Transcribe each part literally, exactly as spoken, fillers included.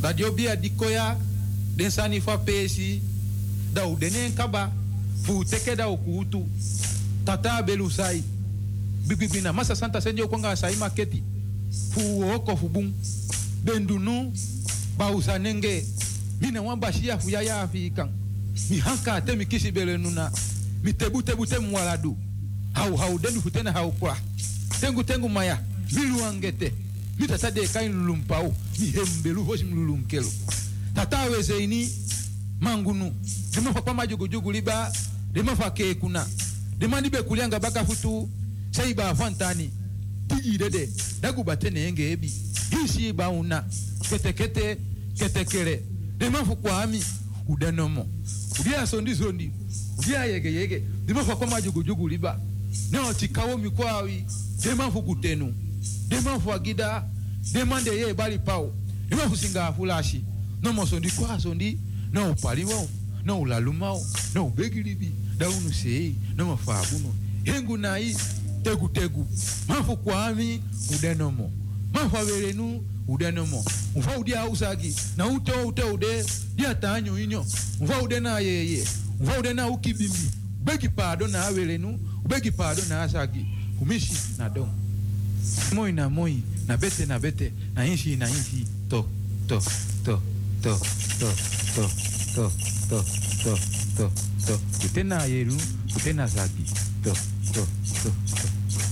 Dat je bia dikoya den sani fa pesi da u denen kaba fu teke da ukutu tata belusai bibibina masa santa senjo konga sai maketi fu oko fu bum bendunu ba usanenge mina wamba shia fu yaya afikan mi hanka te mi kisi belenuna mi tebu tebu te mwaladu hau hau denu futena hau kwa tengu tengu maya milu angete mi tata de kain lulumpau mi hembelu hosim lulunkelo tata weze ini mangunu dema fa pama jogo jogo liba dema fa ke kuna dema ni be kulianga baka futu sai ba fantani tigi dede dagu batene enge ebi hisi ba una kete kete kete kere dema fu kwa ami udanomo udia sondi sondi udia yege yege dema fa pama jogo jogo liba no tikawo mi kwawi dema fu kutenu dema fu agida dema de ye bali pau dema fu singa fulashi no mo sondi kwa sondi no paliwo no lalumao no begilibi da unu sei no mafabuno hengu nai tegu tegu mafu kwami udenomo mafu averenu udenomo mfa udia usagi na uto uto ude dia tanyo inyo mfa ude na yeye mfa ude na ukibimi begi pado na averenu begi pado na asagi kumishi na don moi na moi na bete na bete na inshi na inshi to to to to to to to to to to to kutena yeru kutena zaki to to to to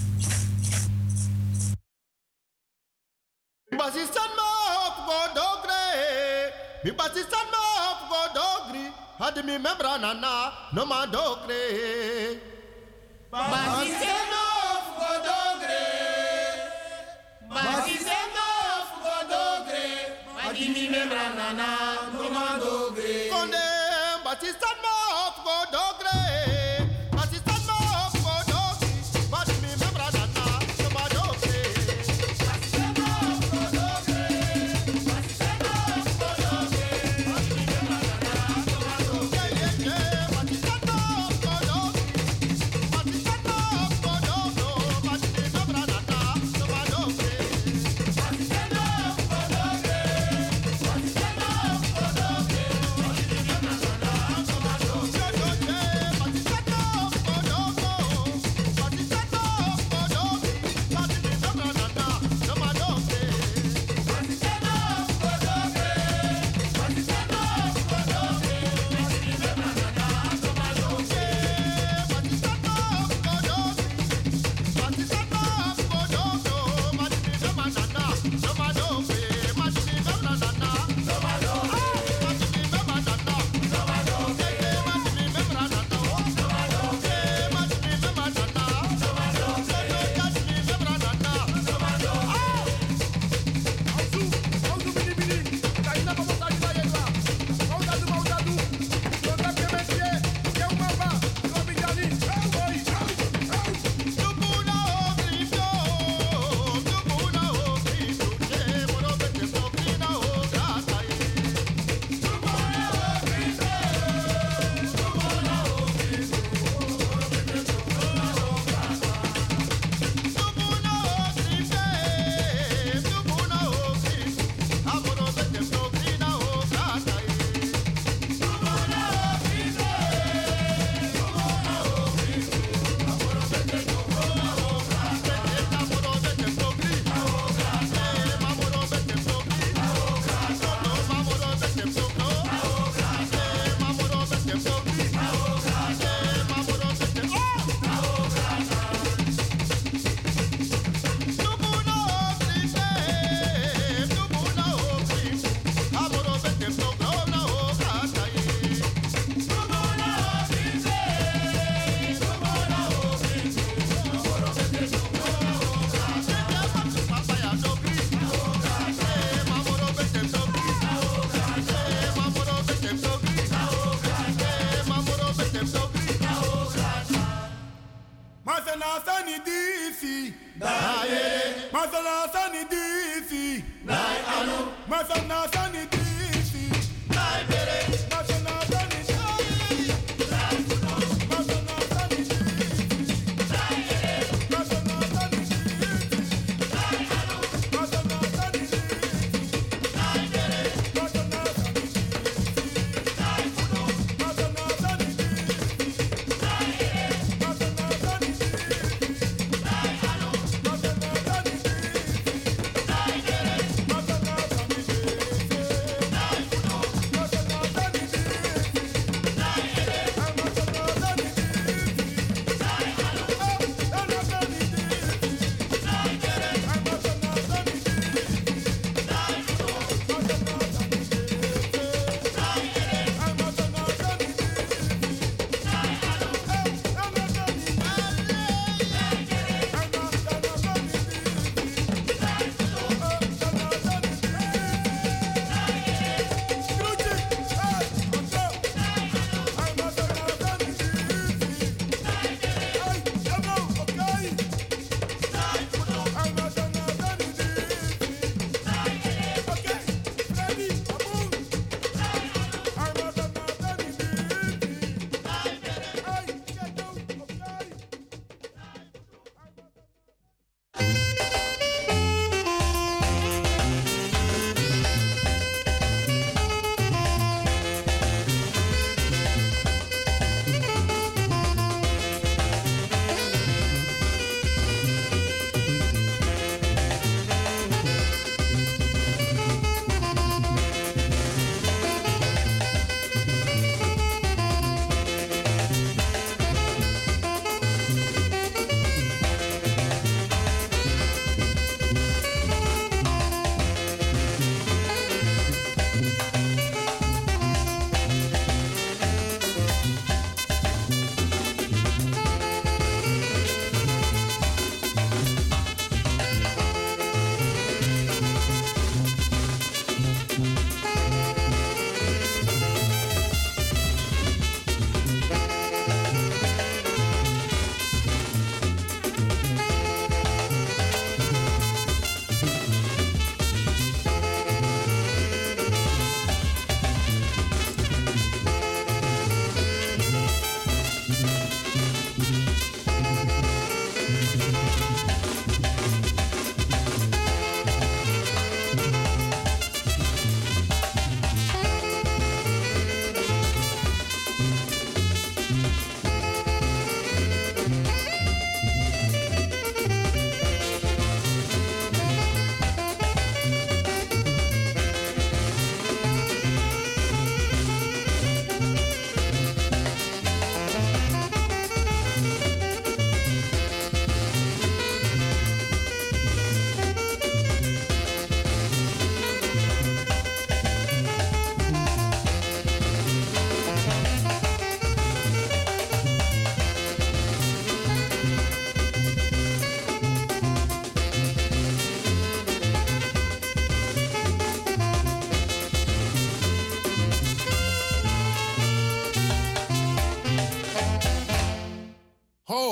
Basistan ma hop go dogre mi basistan ma hop go dogri had mi membra nana no ma dogre Basistan ma hop go dogre Basistan ma hop go dogre had mi membra nana no ma dogre konde basistan ma hop go dogre basistan ma hop go dogri had mi membra nana no ma dogre Basistan ma hop go dogre Basistan ma hop go dogre had mi membra nana no ma dogre basistan ma hop go dogri basistan ma hop go dogro had mi membra nana no ma dogre Basistan ma hop go dogre Basistan ma hop go dogre had mi membra nana no ma dogre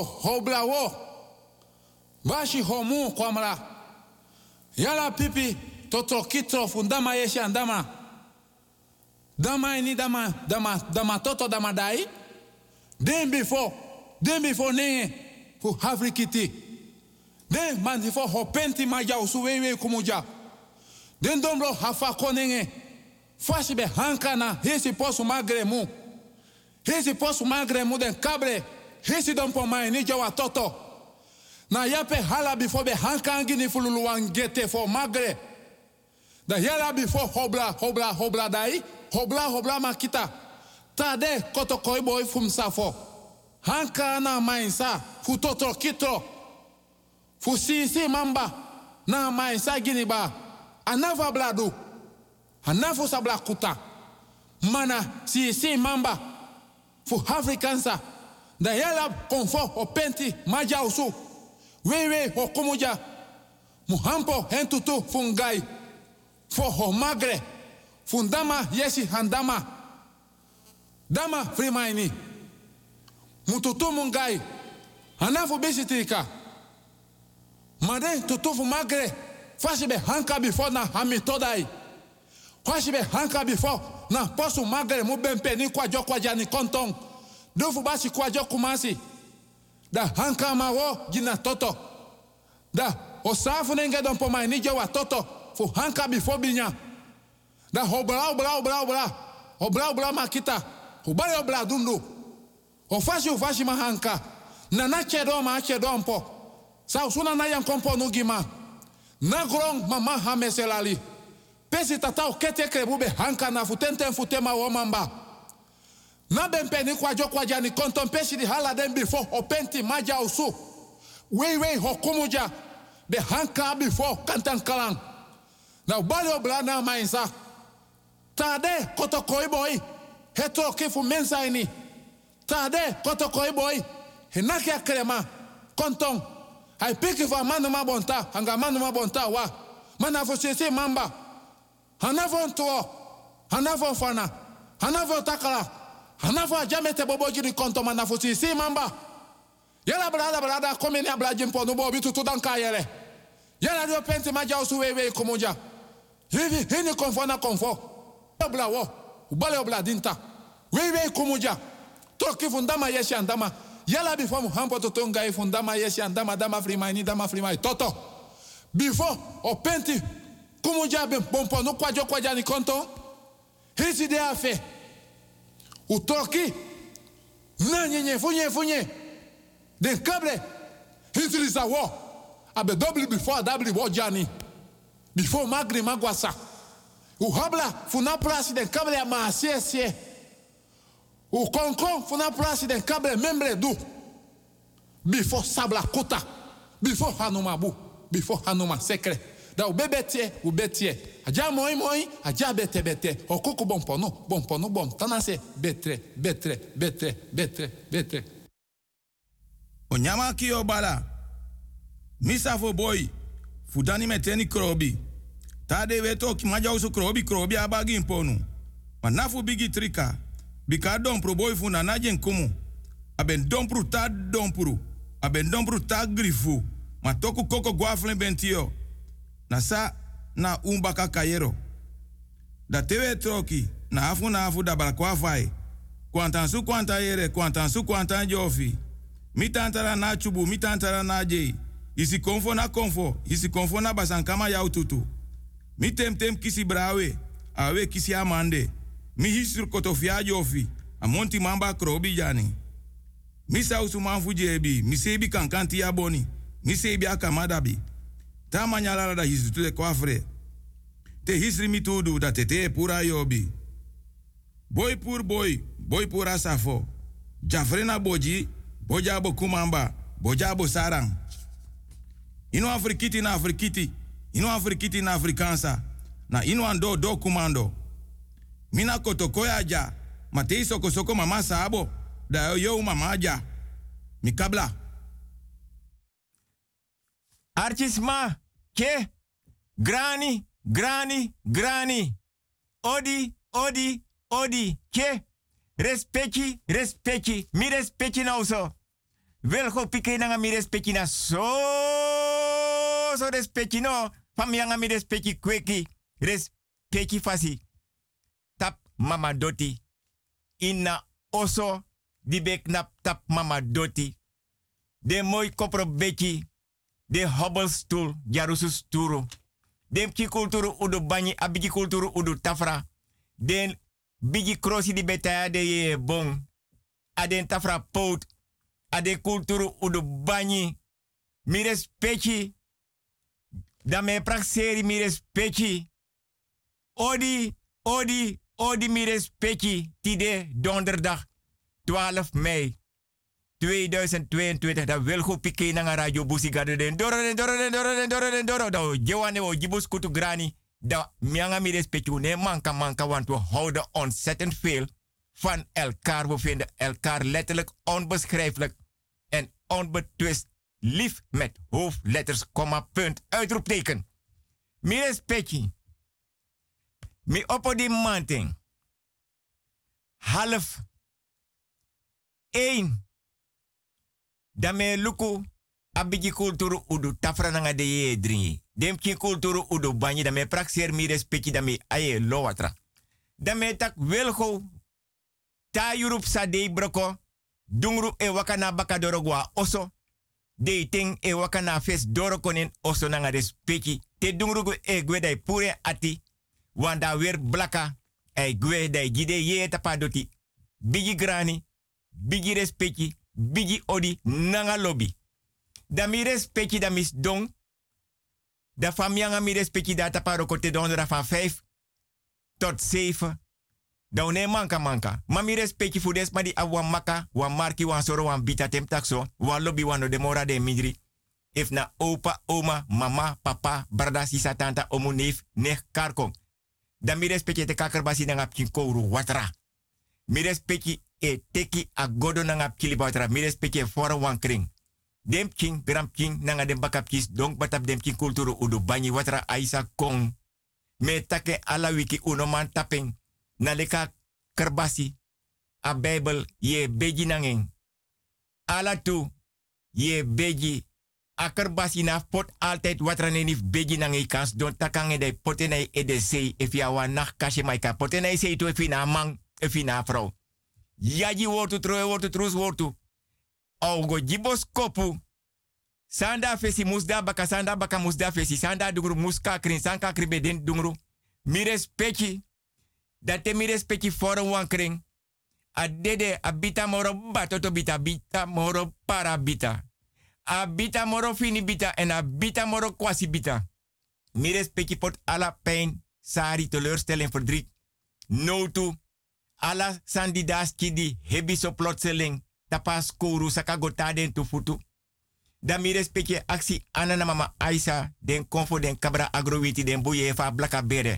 Ho, hobla wo. Bashi homu kwamra. Yala pipi totro kitro fundama yeshi andama. Dama ini dama dama dama toto dama dai. Den before, den before nenge fu Afrikiti. Den man before hopenti maja usuwewe kumuja. Den dombro hafa konenge. Fashi be hankana hesi posu magremu. Hesi posu magremu den kabre. Hesi dompo mai ni jawa toto. Na yape hala before be hankangi ni fululu wangete for magre. Da yala before hobla hobla hobla dai. Hobla hobla makita. Tade koto koi boy fum safo. Hanka na mainsa fu totro kitro. Fu sisi mamba na mainsa giniba. Anava bladu. Anafu sabla kuta. Mana sisi mamba fu Afrikansa. Da yala konfo o penti maja usu. Wewe ho kumuja. Muhampo hentutu fungai. Fo ho magre. Fundama yesi handama. Dama frimaini. Mututu mungai. Anafu bisitrika. Made tutufu magre. Fashibe hanka before na hamitodai. Fashibe hanka before na posu magre mubempe ni kwa jo kwa jani kontong. Dufu basi kwa jo kumasi. Da hanka mawo jina toto. Da osafu nenge don pomai ni jo wa toto. Fu hanka before binya. Da obra obra obra obra. Obra obra makita. Ubale obra dundu. Ofashi ufashi mahanka. Na na chedo ma chedo mpo. Sa usuna na yan kompo nugima. Na grong mama hameselali. Pesi tata ukete krebube hanka na futente futema womamba. Na bempe ni kwa jo kwa jani konton pesi di hala den before openti maja usu. Wei wei hokumuja. Be hanka before kantan kalang. Na ubale obla na mainsa. Tade koto koi boy. Heto kifu mensa ini. Tade koto koi boy. Hinaki akrema. Konton. Hai piki fa manu mabonta. Hanga manu mabonta wa. Manafo sisi mamba. Hanafo ntuo. Hanafo fana. Hanafo takala. Hanafo ajamete bobo jini konton manafo sisi mamba. Yala brada brada komeni abla jimpo nubo bitu tudanka yele. Yala dio penti maja usu wewe kumuja. Hivi hini konfona konfo. Obla wo. Ubale obla dinta. Wewe kumuja. Toki fundama yeshi andama. Yala before muhampo totonga i fundama yeshi andama dama frimaini dama frimaini. Toto. Before openti kumuja bompo no kwajo kwaja ni konto. Hisi de afe. Utoki. Na nyenye funye funye. Den kable. Hisi lisa wo. Abe double before double wo jani. Before magri magwasa. U habla funa plasi den kable ya maasie sie. U konkon funa plasi den kable membre du. Before sabla kuta. Before hanuma bu. Before hanuma sekre. Da u bebetie, u betie. Aja moi moi, aja bete bete. Okuku bompono, bompono bom. Tanase betre, betre, betre, betre, betre. Onyama ki obala. Misa fo boy. Fudani meteni krobi. Tade weto ki maja usu krobi krobi abagi imponu. Manafu bigi trika. Bika dompru boy funa na jen kumu. Aben dompru ta dompru. Aben dompru ta grifu. Matoku koko guaflen bentio. Nasa na umbaka kayero. Da tewe troki. Na afu na afu da balakwa fai. Kwantansu kwanta yere. Kwantansu kwanta jofi. Mitantara na chubu. Mitantara na jei. Isi konfo na konfo. Isi konfo na basankama ya ututu. Mi tem tem kisi brawe. Awe kisi amande. Mi hisur kotofia jofi. Amonti mamba krobi jani. Mi sausu manfu jebi. Mi sebi kankanti ya boni. Mi sebi akamadabi. Ta manyala da hisu tule kwafre. Te hisri mi tudu da tete pura yobi. Boy pur boy. Boy pura safo. Jafrena boji. Bojabo kumamba. Bojabo sarang. Ino afrikiti na afrikiti. Ino afrikiti na afrikansa. Na ino ando do kumando. Mina kotokoya ja. Matei soko soko mama sabo. Da yo mama ja. Mikabla. Artisma. Ke. Grani. Grani. Grani. Odi. Odi. Odi. Ke. Respecti. Respecti. Mi respecti nou so. Wel go pike na mi respecti na so so respecti no. Fam yanga mi respecti kweki. Respecti fasi. Tap mama doti. Inna oso di bek nap tap mama doti. De mooi kopro beki. De hobbelstoel. Jarusu sturu. Dem ki kulturu udu banyi. Abigi kulturu udu tafra. Den bigi krosi di betaya de ye bon. Aden tafra pout. Ade kulturu udu banyi. Mi respecti. Da me prakseri mi respecti. Odi, odi, odi mi respecti. Tide donderdag twaalf mei tweeduizend tweeëntwintig. Da wil go pike na radio busigado den. Doro den, doro den, doro den, doro den, doro. Da jewane o jibus kutu grani. Da mianga mi respecti. Ne manka manka want we houden ontzettend veel van elkaar. We vinden elkaar letterlijk onbeschrijfelijk en onbetwist lief met hoofdletters, komma, punt, uitroepteken. Mi respecti. Mi oppo di manting. Half. Eén. Dame luku abigi kulturu udu tafra nanga de ye dringi. Dem ki kulturu udu banyi dame praxer mi respecti dame aye lo watra. Dame tak welgo ta Europe sa de broko. Dungru e wakana bakadorogwa oso. De ting e wakana fes dorokonin oso nanga respecti. Te dungru e gwedai pure ati. Wanda weer blaka. E gwedai gide ye tapadoti. Bigi grani. Bigi respecti. Bigi odi nanga lobby. Da mi respecti da mis dong. Da famianga mi respecti da taparo kote dondera van vijf tot zeven. Da une manka manka. Ma mi respecti fu des ma di awan maka, wan marki, wan soro, wan bita tem takso, wan lobby, wan no demora de midri. If na opa, oma, mama, papa, brada, sisa, tanta, omu, neef, nech, karkong. Da mi respecti te kakerbasi nanga pkinkouru watra. Mi respecti e teki a godo nanga pkili watra. Mi respecti e fora wan kring. Dem king, gram king, nanga dem bakap kis, donk batap dem king kulturu udu banyi watra aisa kong. Me take ala wiki uno man tapeng. Na leka kerbasi. A Bijbel ye beji nangeng. Ala tu ye beji. A kerbasi na pot altijd watra nenif beji nangeng kans. Don takange de potenai e de sei. If ya wa nach kashe maika. Potenai sei tu efi na mang. Efi na vrouw. Yaji wortu troe wortu trus wortu. Augo jibos kopu. Sanda fesi musda baka sanda baka musda fesi. Sanda dungru muska krin sanka kribe den dungru. Mi respecti. Date mi respecti forum wan kring. Adede abita moro batoto bita bita moro parabita. Abita moro fini bita en abita moro kwasi bita. Mi respecti pot ala pijn, sari, teleurstelling, verdriet. No to. Ala sandidas kidi hebi so plotseling. Tapas kouru sakagota den tu futu. Da mi respecti aksi anana mama Aisa den konfo den kabra agrowiti den boye fa blaka bere.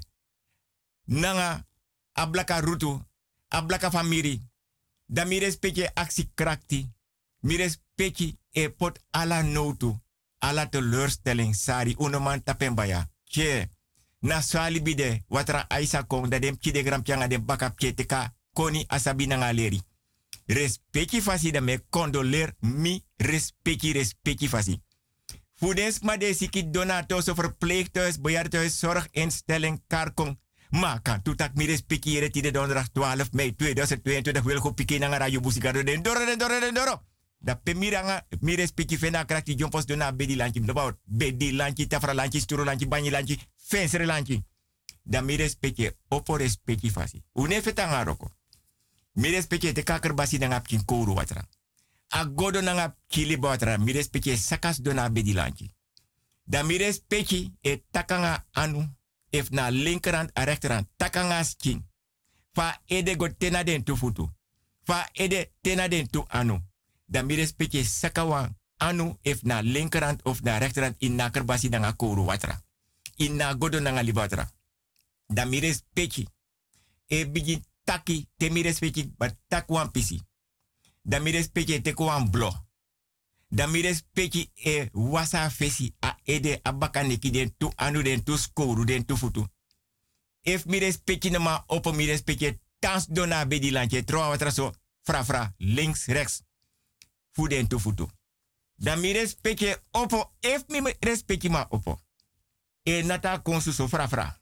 Nanga ablaka rutu, ablaka famiri. Da mi respecti aksi krakti. Mi respecti e pot ala notu. Ala teleurstelling sari unoman tapembaya. Che. Na swali bide watra Aisa kong da dem kide gram pianga dem bakap teka koni asabi nanga leri. Respecti fasi da me condoleer mi respecti respecti fasi. Voedens ma de siki donatos of verpleeghuis, bejaardenhuis, zorginstelling, karkong. Ma kan toetak mi respecti jere tide donderdag twaalf mei tweeduizend tweeëntwintig wil go piki nanga radio busigado den doro den doro den doro. Da pe miranga mi respecti fena krakti jompos dona bedi lanchi mdabaut. Bedi lanchi, tafra lanchi, sturo lanchi, banyi lanchi, fensere lanchi. Da mi respecti opo respecti fasi. Une fetanga roko. Mi respecti te kakerbasi nanga pkin kouru watra. Agodo nanga kili watra. Mi respecti sakas dona bedi lanchi. Da mi respecti e takanga anu. If na linkerhand a rechterhand. Takanga skin. Fa ede go tena den tu futu. Fa ede tena den tu anu. Da mi respecti sakawan anu if na linkerhand of na rechterhand in na kerbasi nanga kouru watra. In na godo nanga libatra. Da mi respecti e bigi taki te mi respecti but takwan pisi. Da mi respecti te kwan blo. Da mi respecti e wasa fesi a ede abakaneki den tu anu den tu skoru den tu futu. If mi respecti nama opo mi respecti tans dona bedi lanche troa watra so fra fra links rechts. fuden to futu. Dan mi respecte opo, if mi respecte ma opo. E nata konsu so fra fra.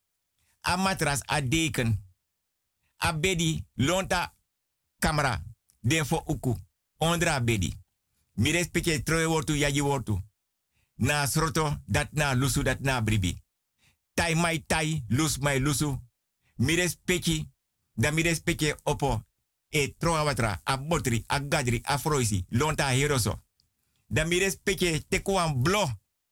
A matras, a deken, a bedi, lonta camera, den fo uku, ondra bedi. Mi respecte troe wortu, yaji wortu. Na sroto, dat na lusu, dat na bribi. Tai mai tai, lus mai lusu. Mi respecte, dan mi respecte opo. E troa watra, a botri, a gadri, a froisi, lonta heroso. Dan mi respecte tekuan blo.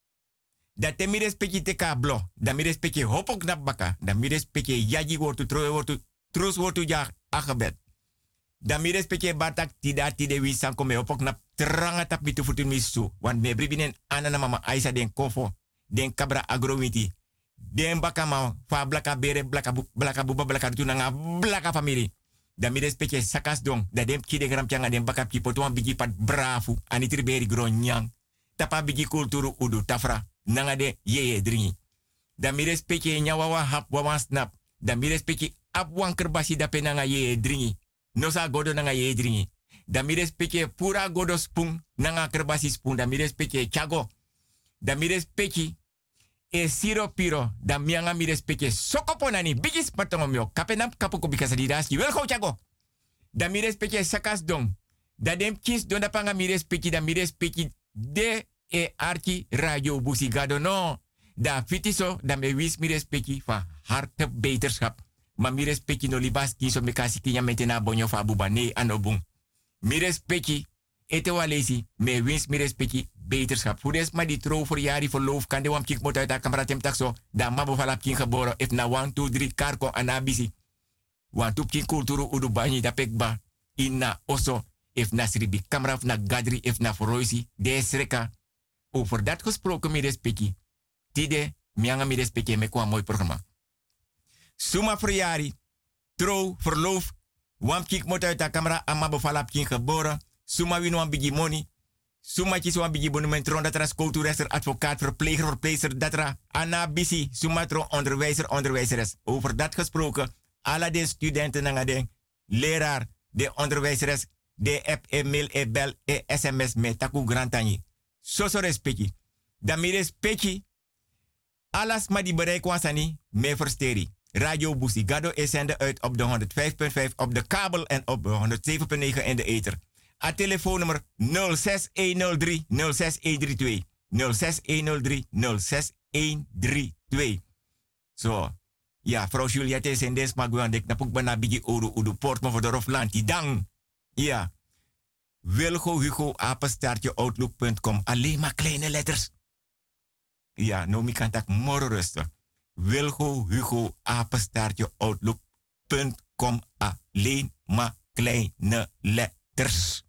Dat te mi respecte teka blo. Dan mi respecte hopok na baka. Dan mi respecte yaji wortu, troe wortu, trus wortu ja agebed. Dan mi respecte batak tida tide wi sanko me hopok na tranga tap mitu futu misu. Want me bribinen anana mama Aisa den kofo, den kabra agrowiti. Den baka ma fa blaka bere, blaka bu, blaka buba, blaka tunanga, blaka family. Dan mi respecte sakas dong. Da dem kide gram changa den baka pipo tuan bigi pat brafu. Anitri beri gronyang. Tapa bigi kulturu udu tafra. Nanga de yeye dringi. Dan mi respecte nyawawa hap wawan snap. Dan mi respecte ap wan kerbasi dape nanga yeye dringi. Nosa godo nanga yeye dringi. Dan mi respecte pura godo spoon nanga kerbasi spoon. Dan mi respecte chago. Dan mi respecte e siro piro. Dan mianga mi respecte sokopo nani. Bigis patomomyo. Kapenam kapuko bikasa didaski. Wel go chago. Dan mi respecte sakas dong. Dan dem kis don dapanga mi respecte. Dan mi respecte de e arki radio busigado no. Da fitiso dan me wis mi respecte van harte beterschap. Ma mi respecte no libas kiso me kasi kinya metena bonyo fa buba ne anobung. Mi respecte ete walesi me wins mi respecte beterschap. Fudes ma di trouw voor jari verloof kan de wam kik mot uit a kamera tem takso. Da mabo falap kin geboren if na one two three karko anabisi. Want up kin kulturu udu banyi da pekba. Inna oso if na sribi kamera of na gadri if na foroisi de sreka. Over dat gesproken mi respecte. Tide mianga mi respecte me kwa mooi programma. Suma verjari, trouw, verloof, wam kik mot uit de camera, amma bevalap kin geboren, suma win wan bigi money, suma kis wan bigi monument ron datra schooltoerester, advocaat, verpleger, verpleegster, datra, anabisi, suma tro onderwijzer, onderwijzeres. Over dat gesproken, alle de studenten nanga de leraar, de onderwijzeres, de app, e mail, e bel, e sms, me taku grantani. So so respecti. Dan mi respecti, alas ma di bereik wansani, me versteri. Radio Busigado is zender uit op de honderd vijf punt vijf op de kabel en op de honderd zeven punt negen in de ether. A telefoonnummer nul zes een nul drie nul zes een drie twee. nul zes een nul drie nul zes een drie twee. Zo. Ja, vrouw Juliette is in deze magwan dek na puk bana bigi oru udu port mo voor de roflanti dang. Ja. Wilgo Hugo apenstaartje outlook punt com. Alleen maar kleine letters. Ja, nou mi kan tak morgen rusten. Wilgo Hugo apenstaartje outlook punt com. Alleen maar kleine letters.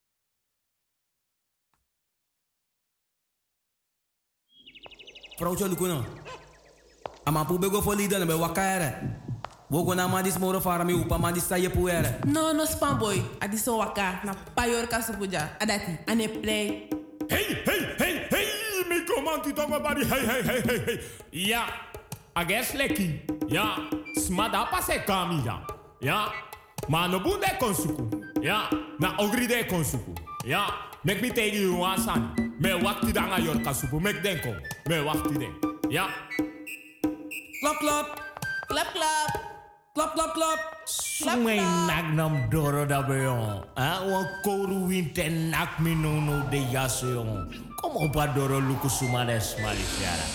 Vrouwtje Lukuno. Ama pube go for leader na be wakare. Wogo na ma dis moro fara mi upa ma dis saye puere. No no spam boy. Adi so waka na payor kasupuja. Adati ane play. Hey hey hey hey mi komanti tongo bari hey hey hey hey hey. Ja. Ages leki. Ja. Smada pase kami ja. Ja. Ma no bunde konsuku. Ja. Na ogri de konsuku. Ja. Mek mi tegi you wasan. Me wakti danga yor kasupu mek denko. Me wakti den. Ja. Klap klap. Klap klap. Klap klap klap. Sumay nagnam doro da beyon. Ah, wan koru winte nak mi no no de yaso yon. Kom op a doro luku sumades malifiara.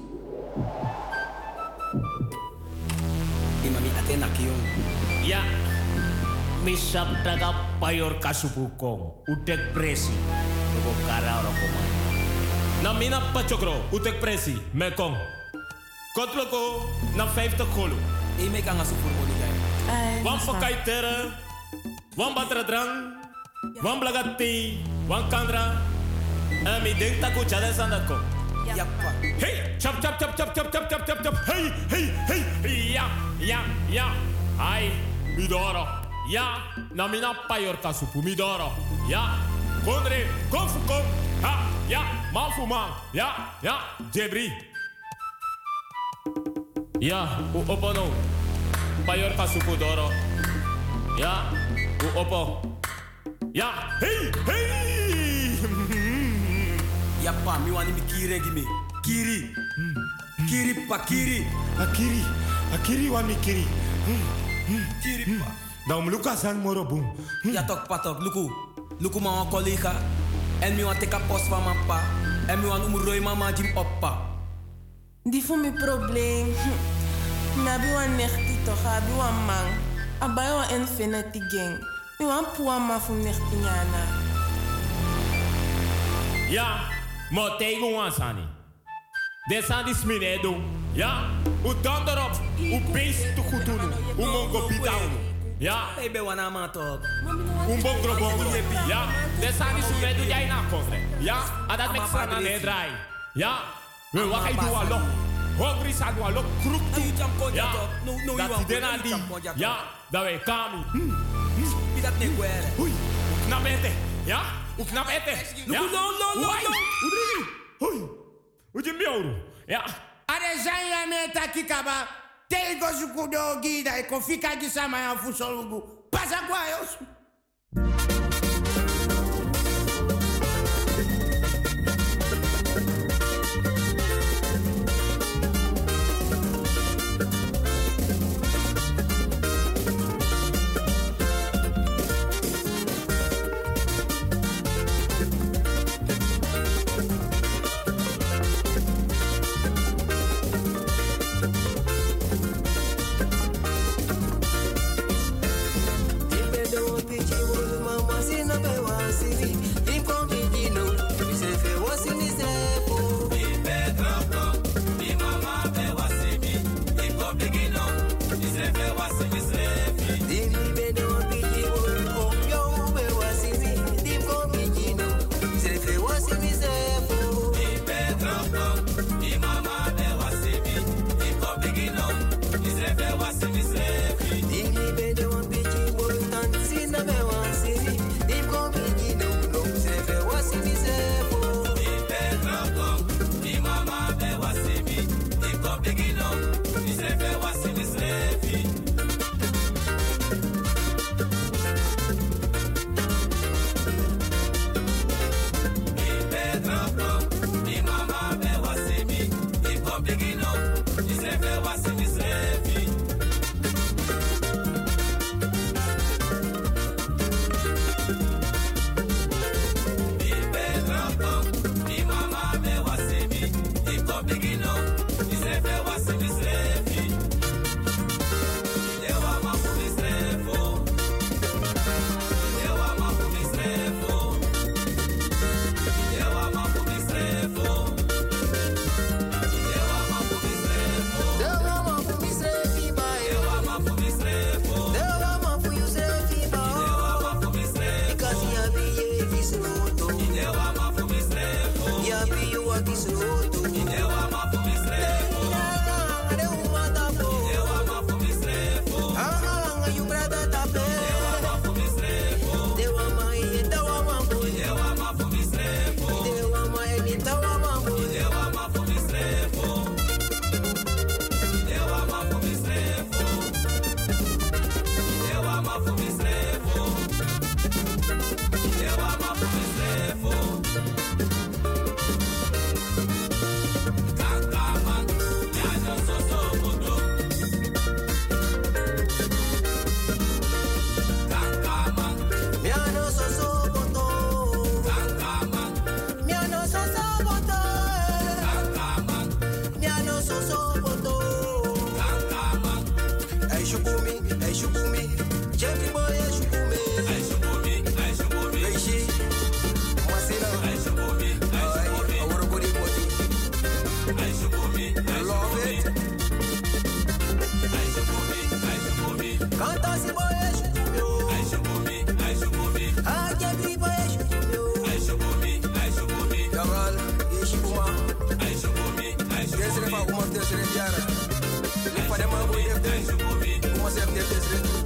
Imami ate nak yon. Ja. Misap daga payor kasupu kong. Utek presi. Togo kara ora komay. Na mina pachokro. Utek presi. Me kong. Kotloko na vijftig golo. Ik maak aan voor moeilijkheid. Wan pakai tere, wan batra drang, wan blagati, wan kandra. En mi denk taku chade sandat ko. Ja, pa. Hey, chap chap chap chap chap chap chap chap chap. Hey, hey, hey. Ja, ja, ja. Ai, midoro. Ja, na mina payor kasupu midoro. Ja, kondre, konfu kon. Ha, ja, manfu man. Ja, ja, jebri. Ja, u opo no. Payor kasupu doro. Ja, u opo. Ja, hey, hey. Ja pa, mi wani mi kiri gimi. Kiri. Kiri pa, kiri. Akiri. Akiri wa mi kiri. Kiri pa. Dan Lucas en Morobum. Ja tok pa tok, luku. Luku ma wan collega. En mi wan teka post van mijn pa. En mi wan umuroi mama jim oppa. Die voor mijn probleem. Nabi wan nechti toch, abi wan man. Abai wan infinity gang. Mi wan puwa ma fu nechti nyana. Ja, maar tegen ons aan. Dit zijn die sminedo. Ja, u dan erop. U beest te goed doen. U mongo bidang. Ja. Ik ben wana man toch. Un bongro bongro. Ja, dit zijn die sminedo jij na komt. Ja, en dat maakt van aan de draai. Ja, we wat ga je doen alok. Hongri sa doen alok. Kroek toe. Ja, dat die dena die. Ja, dat wij kami. Wie dat niet kwere. Oei, hoe knap eten. Ja, hoe knap eten. Ja, no, no, no, no. Oei, hoe je miauw. Ja. Are zijn ja met takikaba. Tego zukudo gida. Ik kon fika gisama ya fusolugu. Pasa kwa yos. Uma serve de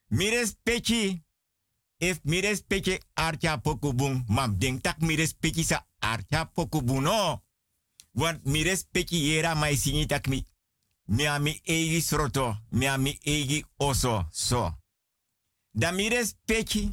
Mires pechi. If mires pechi archa pokubung. Mam denk tak mires pechi sa archa pokubung no. Want mires pechi yera mai singi tak mi. Mi ami egi sroto. Mi ami egi oso. So. Da mires pechi.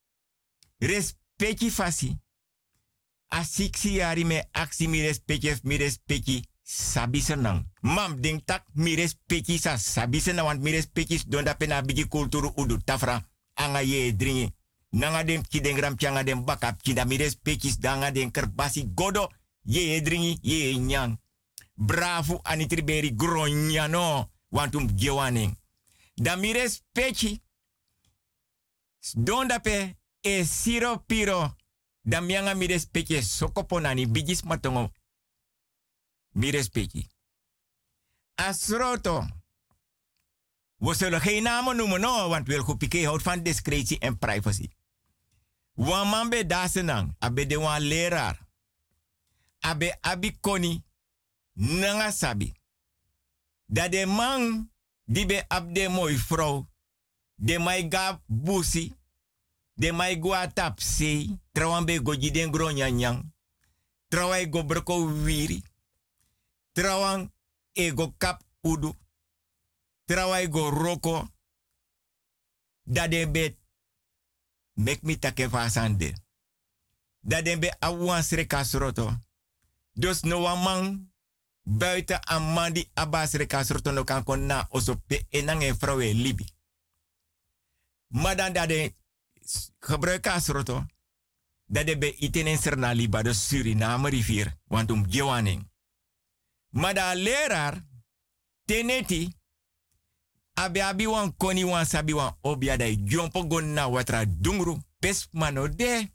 Respecti fasi. Asiksi yari me aksi mi respecti mi respecti sabi senang. Mam ding tak mi respecti sa sabi senang want mi respecti don da pena bigi kulturu udu tafra anga ye dringi. Nanga dem ki den gram changa dem bakap ki da mi respecti danga den kerbasi godo ye dringi ye nyang. Bravo anitriberi gronyano wantum gewaning. Da mi respecti don da pe e siro piro da mianga mi respecti sokoponani bigis matongo mi respecti asroto we zullen geen namen noemen no want wil goed pike houdt van discretie en privacy wan man be dasenang abe de wan leraar abe abi koni nanga sabi da de man die be abde mooi vrouw de mai gab busi de mai go atap sei, trawan be go jiden gro nyanyang, trawan go broko wiri, trawan e go kap udu, trawan go roko, da de be mek mi take fasande, da de be awan sreka sroto, dus no wamang buiten amandi abas sreka sroto no kan kon na osope enang e vrouwe libi. Madan da de gebruik asroto dat de be itenen serna liba de Suriname rivier want um gewaning. Maar da leraar teneti abe abi wan koni wan sabi wan obia da jompo gonna watra dungru pes mano de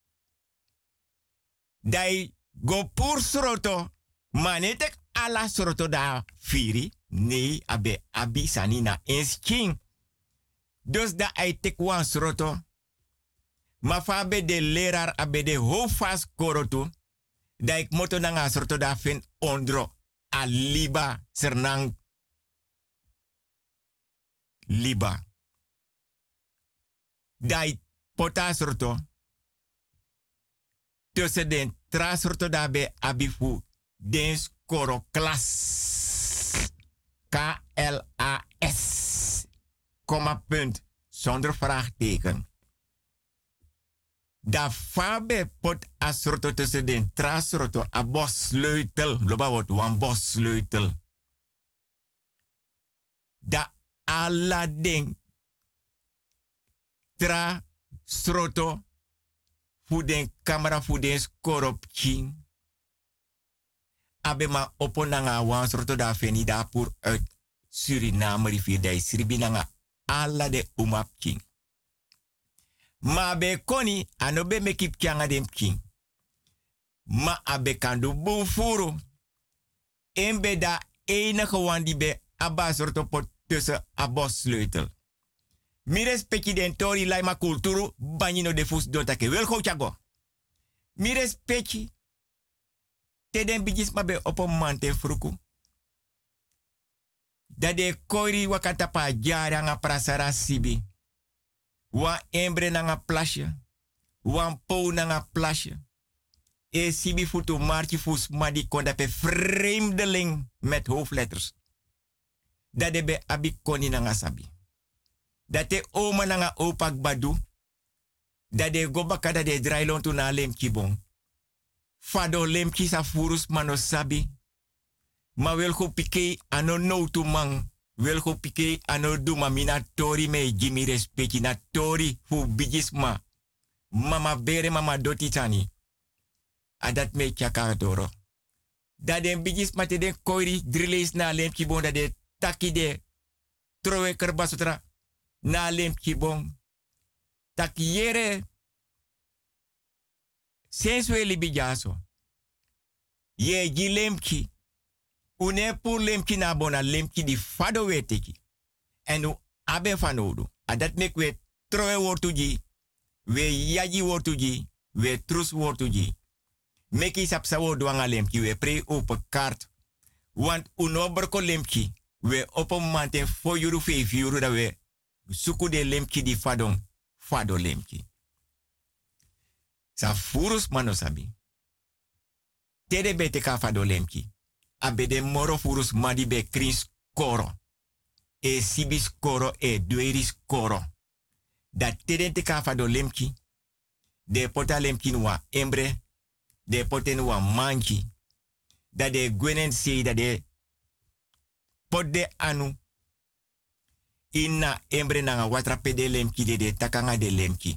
dai go pur sroto manetek ala sroto da firi nee abe abi sanina ensking. Dus da ai tek wan sroto ma fa be de leraar abe de hoofas korotu da ik moto nanga sroto da fin ondro a liba sernang liba dai pota sroto tussen den tra sroto da be abifu den skoro klas K L A S komma punt zonder vraagteken. Da fabe pot asroto tussen den trasroto a bossleutel. Loba wordt wan bossleutel. Da alla ding trasroto fu den camera fu den skorop king. Abe ma oponanga wan sroto da feni da pur uit Suriname rivier da isribi nanga alla de umap king. Ma be koni anobe mekip kyanga dem king. Ma abe kandu bufuru. Embe da enige wan die be abba sorto pot tussen abos sleutel. Mi respecti den tori laima kulturu banyino de fus dotake. Wel go chago. Mi respecti te den bigis ma be opo mante fruku. Da de koiri wakata pa jara nga prasara sibi. Wa embre nga plasje. Wan pou nga plasje. E sibi futu marchi fus madi konda pe vreemdeling met hoofdletters. Da de be abi koni nga sabi. Da te oma nga opak badu. Da de gobaka da de drailon tu na lemki bon. Fado lemki sa furus mano sabi. Ma wel go pike ano no tu mang. Wel go pike ano du ma mina tori me jimi respecti na tori fu bigisma. Mama bere mama doti tani. Adat me chaka doro. Da den bigisma te den koiri driles na lem kibon da de taki de trowe kerbasotra na lem kibon. Taki yere senswe libijaso. Ye ji lemki. Une pour lemki na bona lemki di fado weteki. En u abe fanodu. Adat mek we trowe wortuji. We yaji wortuji. We trus wortuji. Meki sapsa wodu anga lemki. We pre open kaart. Want uno berko lemki. We open manten fo yuru fe yuru da we Suku de lemki di fadon. Fado lemki. Sa furus manosabi. Tede bete ka fado lemki. Abede moro furus madi be kris koro. E sibis koro e dueris koro. Da tede te ka fado lemki. De pota lemki nuwa embre. De poten nuwa manki. Da de gwenen se da de pot de anu. Inna embre nanga watra pede lemki de de takanga de lemki.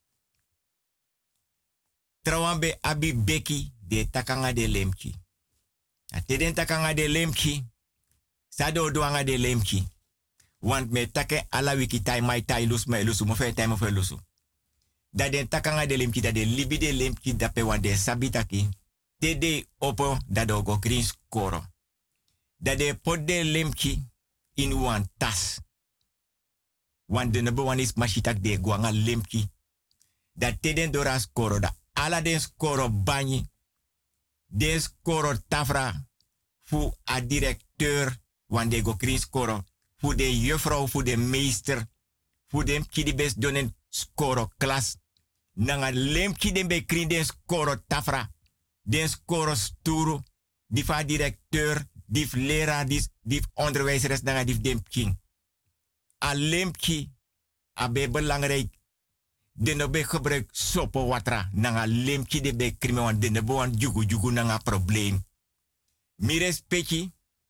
Trawambe abi beki de takanga de lemki. A teden takanga de lemki. Sado doanga de lemki. Want me take ala wiki tai mai tai lus me lusu mo fe tai mo fe lusu. Da den takanga de lemki da de libi de lemki da pe wan de sabitaki. Tede opo da do go green koro. Da de pot de lemki in wan tas. Want de number one is mashitak de guanga lemki. Da teden dora skoro da ala den skoro banyi. Den skoro tafra fu a directeur want de go krin skoro. Fu de juffrouw, fu de meester. Fu dem kidibes donen skoro klas. Nanga lemki den be krin den skoro tafra. Den skoro sturu. Difa directeur, dif leraar, dif, dif onderwijzeres nanga dif dem king. A lemki abe belangrijk. De no be gebruik sopo watra. Nanga lemki de be krimi wan de no be wan jugu jugu nanga probleem. Mi respecti.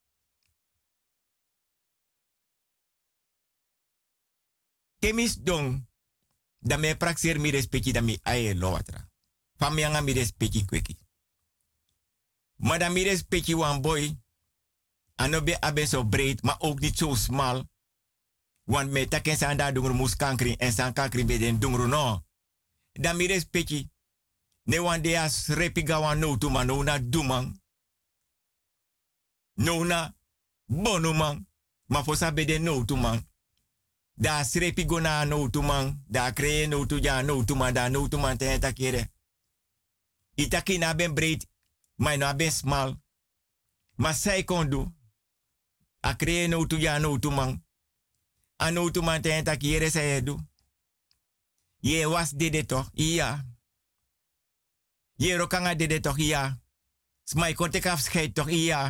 Kemis dong. Da me praxer mi respecti da mi aye lo watra. Famianga mi respecti kweki. Maar da mi respecti wan boy. Anobe abe so breed, maar ook niet zo smal. Want me taken san da dungru mus kankri en san kankri be den dungru no. Da mi respecti. Ne wan de as repiga wan no tu man no na dumang. No na bonu man. Ma fosa be den no tu man. Da srepigo na no tu man. Da kree no tu ja no tu man. Da no tu man ten takere. Itaki na ben breed. Maar na ben smal. Ma sai kondu. A kree no tu ja no tu man. Ano tu man ten takere sa edu. Ye was dede toch? Ja. Ye rokanga dede toch? Ja. Smai kontek afscheid toch? Ja.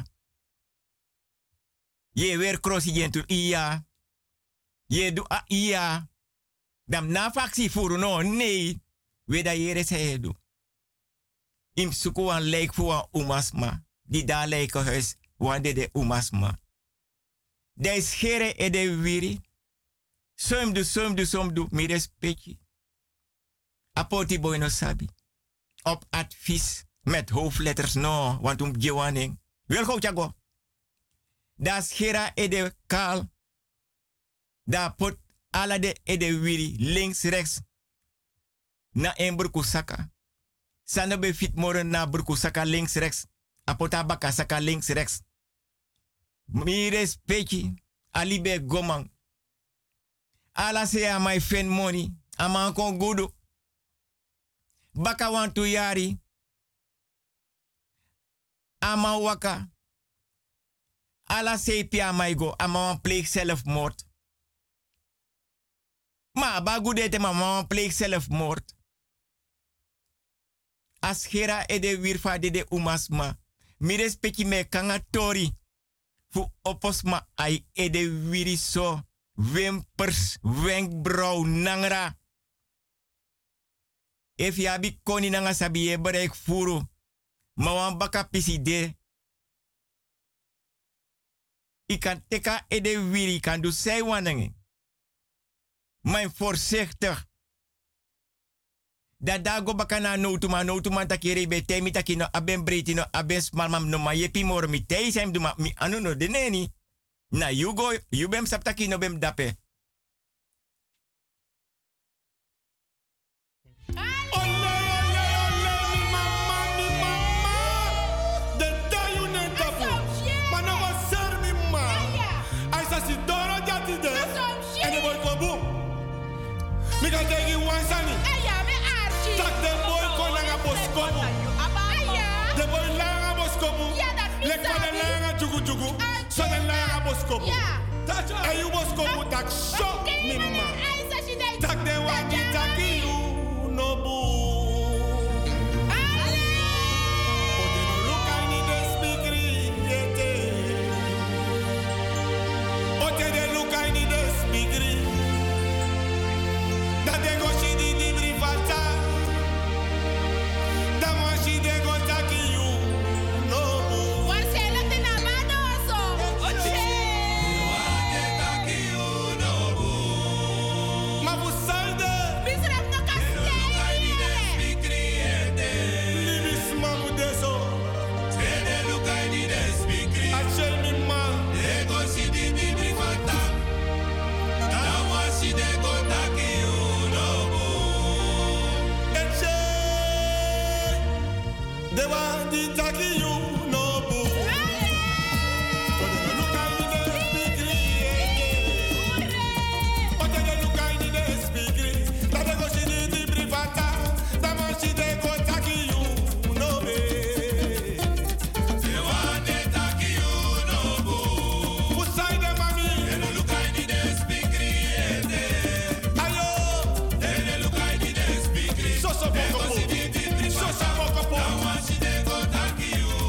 Ye weer crossi jentu? Ja. Ye du a ja. Dam na faxi furu no? Nee. We da yere sa edu. Im suku an leek fu an umasma. Die da leek huis. Wan dede umasma. De schere e de wiri. Som du, som du, som du, mi respecti. Apoti boy no sabi. Op advies met hoofdletters no, want um gewaning. Wil go chago. Da schera e de kaal. Da pot ala de e de wiri, links, rechts. Na en burkusaka. Sana be fit moren na burkusaka links, rechts. Apota baka saka links, rechts. Mi respecti. Alibe gomang. Ala se a my fen money. Ama kon gudu. Baka wan tu yari. Ama waka. Ala se pia my go. Ama wan pleeg zelfmoord. Ma ba gudete ma wan pleeg zelfmoord. As gera e de wirfa de de umasma. Mi respecti me kanga tori. Fu oposma ai e de wiri so. Wimpers, wenkbrauw, nangra. If ya bi koni nanga sabi ye bereik furu. Ma wan baka pisi de. I kan teka e de wiri kan du sei wanange. Mijn voorzichtig. Da dago baka na no tu ma no tu ma takere be temi takino aben breti no aben smal mam no ma yepi mor mi tei sem du ma mi anu no de neni. Na you go, you bem saptaki no bem dape. Mi kan tegi wansani. Aya, me archi. Tak de boy kon nga boskomu. De boy langa boskomu. Lek van de langa jugu jugu. So de langa boskomu. And you must come with that shot, me man. Tak de wagi taki you no boo. But they don't look I need a speaker yet. But they look I need a speaker. That they go she di di brivata. That one she they go taki you no boo. Waar zijn dat in Amado zo? Oche. Maar voor salde. Misrep no kastei. Libis mamu deso. Achel mi man. Eche. De wa di taki you no boo. But they look I need a speaker. But they look I need a speaker. That they go she di di privata. That man she they go taki you no be. Who side them mami? Ayo. So so boko po. So so boko po.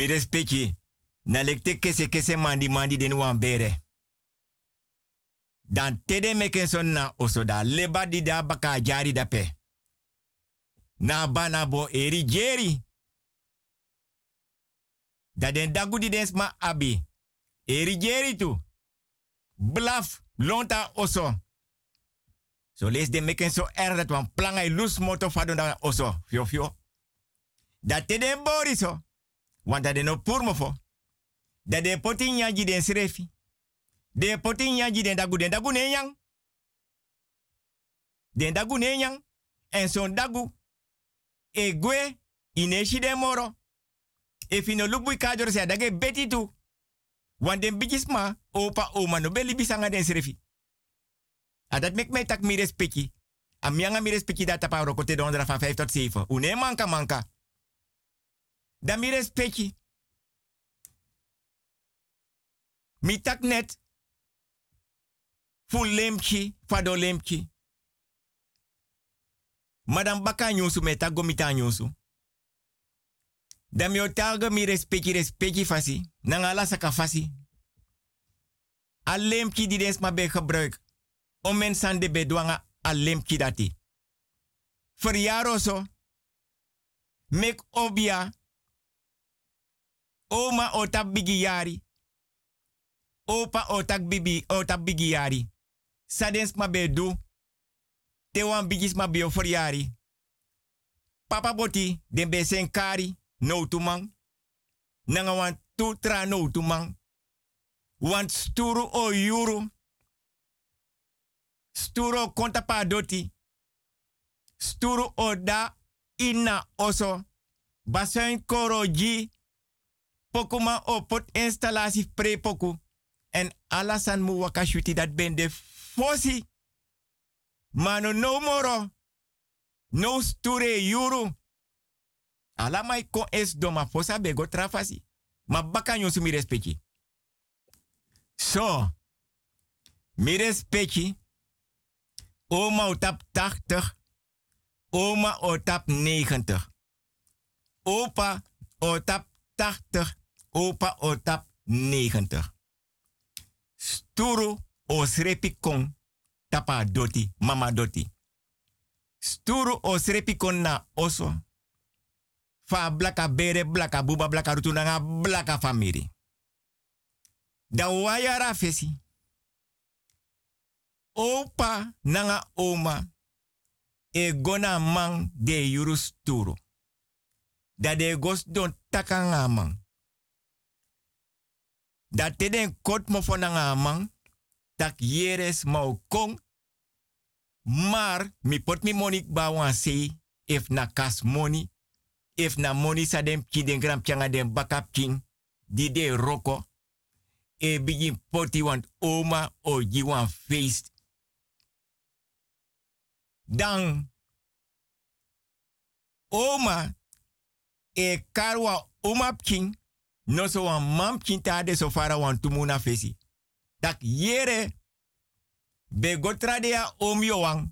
respecti. Na lekte kese kese mandi mandi den wan bere. Dan tede meken son na oso da leba di da baka jari da pe. Na bana bo eri jeri. Da den dagu di den sma abi. Eri jeri tu. Blaf lonta oso. So lees de meken so er dat wan planga lus moto fado da oso. Fio fio. Da tede bori so. Want dat de no purmo fo. Da de potin nyaji den srefi. De potin nyaji den dagu den dagu nenyang. Den dagu nenyang. En son dagu. E gwe. Ineshi den moro. E fino lukbui kajor se adage beti tu. Want den bijisma. Opa oma no beli bisanga den srefi. A dat mek mij tak mi respecti. A mianga mi respecti dat tapa rokote dondra van vijf tot zeven. Une manka manka. Dan mi respecti. Mi tak net. Full lemki, fado lemki. Madam baka nyusu me tak gomita nyusu. Dan mi otaga mi respecti respecti fasi. Nangala saka fasi. A lemki die des ma be gebruik. Om mensen de bedwanga a lemki dati. Verjaro so. Mek obia. Oma otak bigi yari. Opa otak bibi otak bigi yari. Sadens ma bedu. Te wan bigis ma bio verjari. Papa boti den be sen kari no tumang. Nanga wan tutra no tumang. Want sturu o yuru. Sturo konta pa doti. Sturo oda ina oso. Basen koroji. Pokuma o pot installatie prepoku. En alasan mu wakashuti dat ben de fosi. Mano no moro. No sture yuru. Ala mai ko es doma fosa bego trafasi. Ma baka nyosu mi respecti. So. Mi respecti. Oma otap tachtig. Oma otap negentig. Opa otap tachtig. Opa otap negentig. Sturu osrepi kon tapa doti, mama doti. Sturu osrepi kon na oso. Fa blaka bere, blaka buba, blaka rutunanga, blaka famiri. Da wayara fesi. Opa nanga oma e gona mang de yuru sturu. Da de gos don takanga mang. Da te den kot mo nanga mang. Tak yeres mau kong. Maar mi pot mi monik ba wan sei. If na kas money. If na money sa dem ki den gram pianga den bakap king. Di de roko. E begin poti want oma o ji wan feest. Dan oma e karwa oma king no so wan mam king ta de so fara wan tumuna fesi. Tak yere be gotrade ya om yo wang.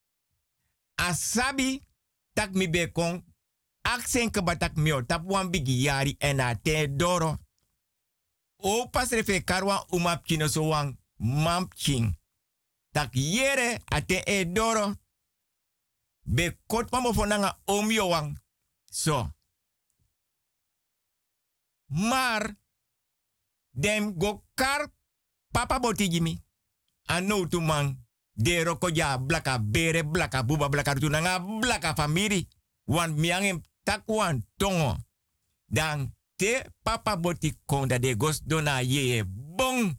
Asabi tak mi be kon aksen ke batak mio tap wan bigi yari en a te doro. O pas refe karwa oma king no so wan mam king. Tak yere ate e doro. Be kot mamo fonanga om yo wang. So. Maar. Dem go kar papa boti jimi. Ano tu man. De roko ja blaka bere blaka buba blaka tunanga blaka famiri. Wan miangem takwan tongo. Dan te papa boti konda de gos dona ye bong.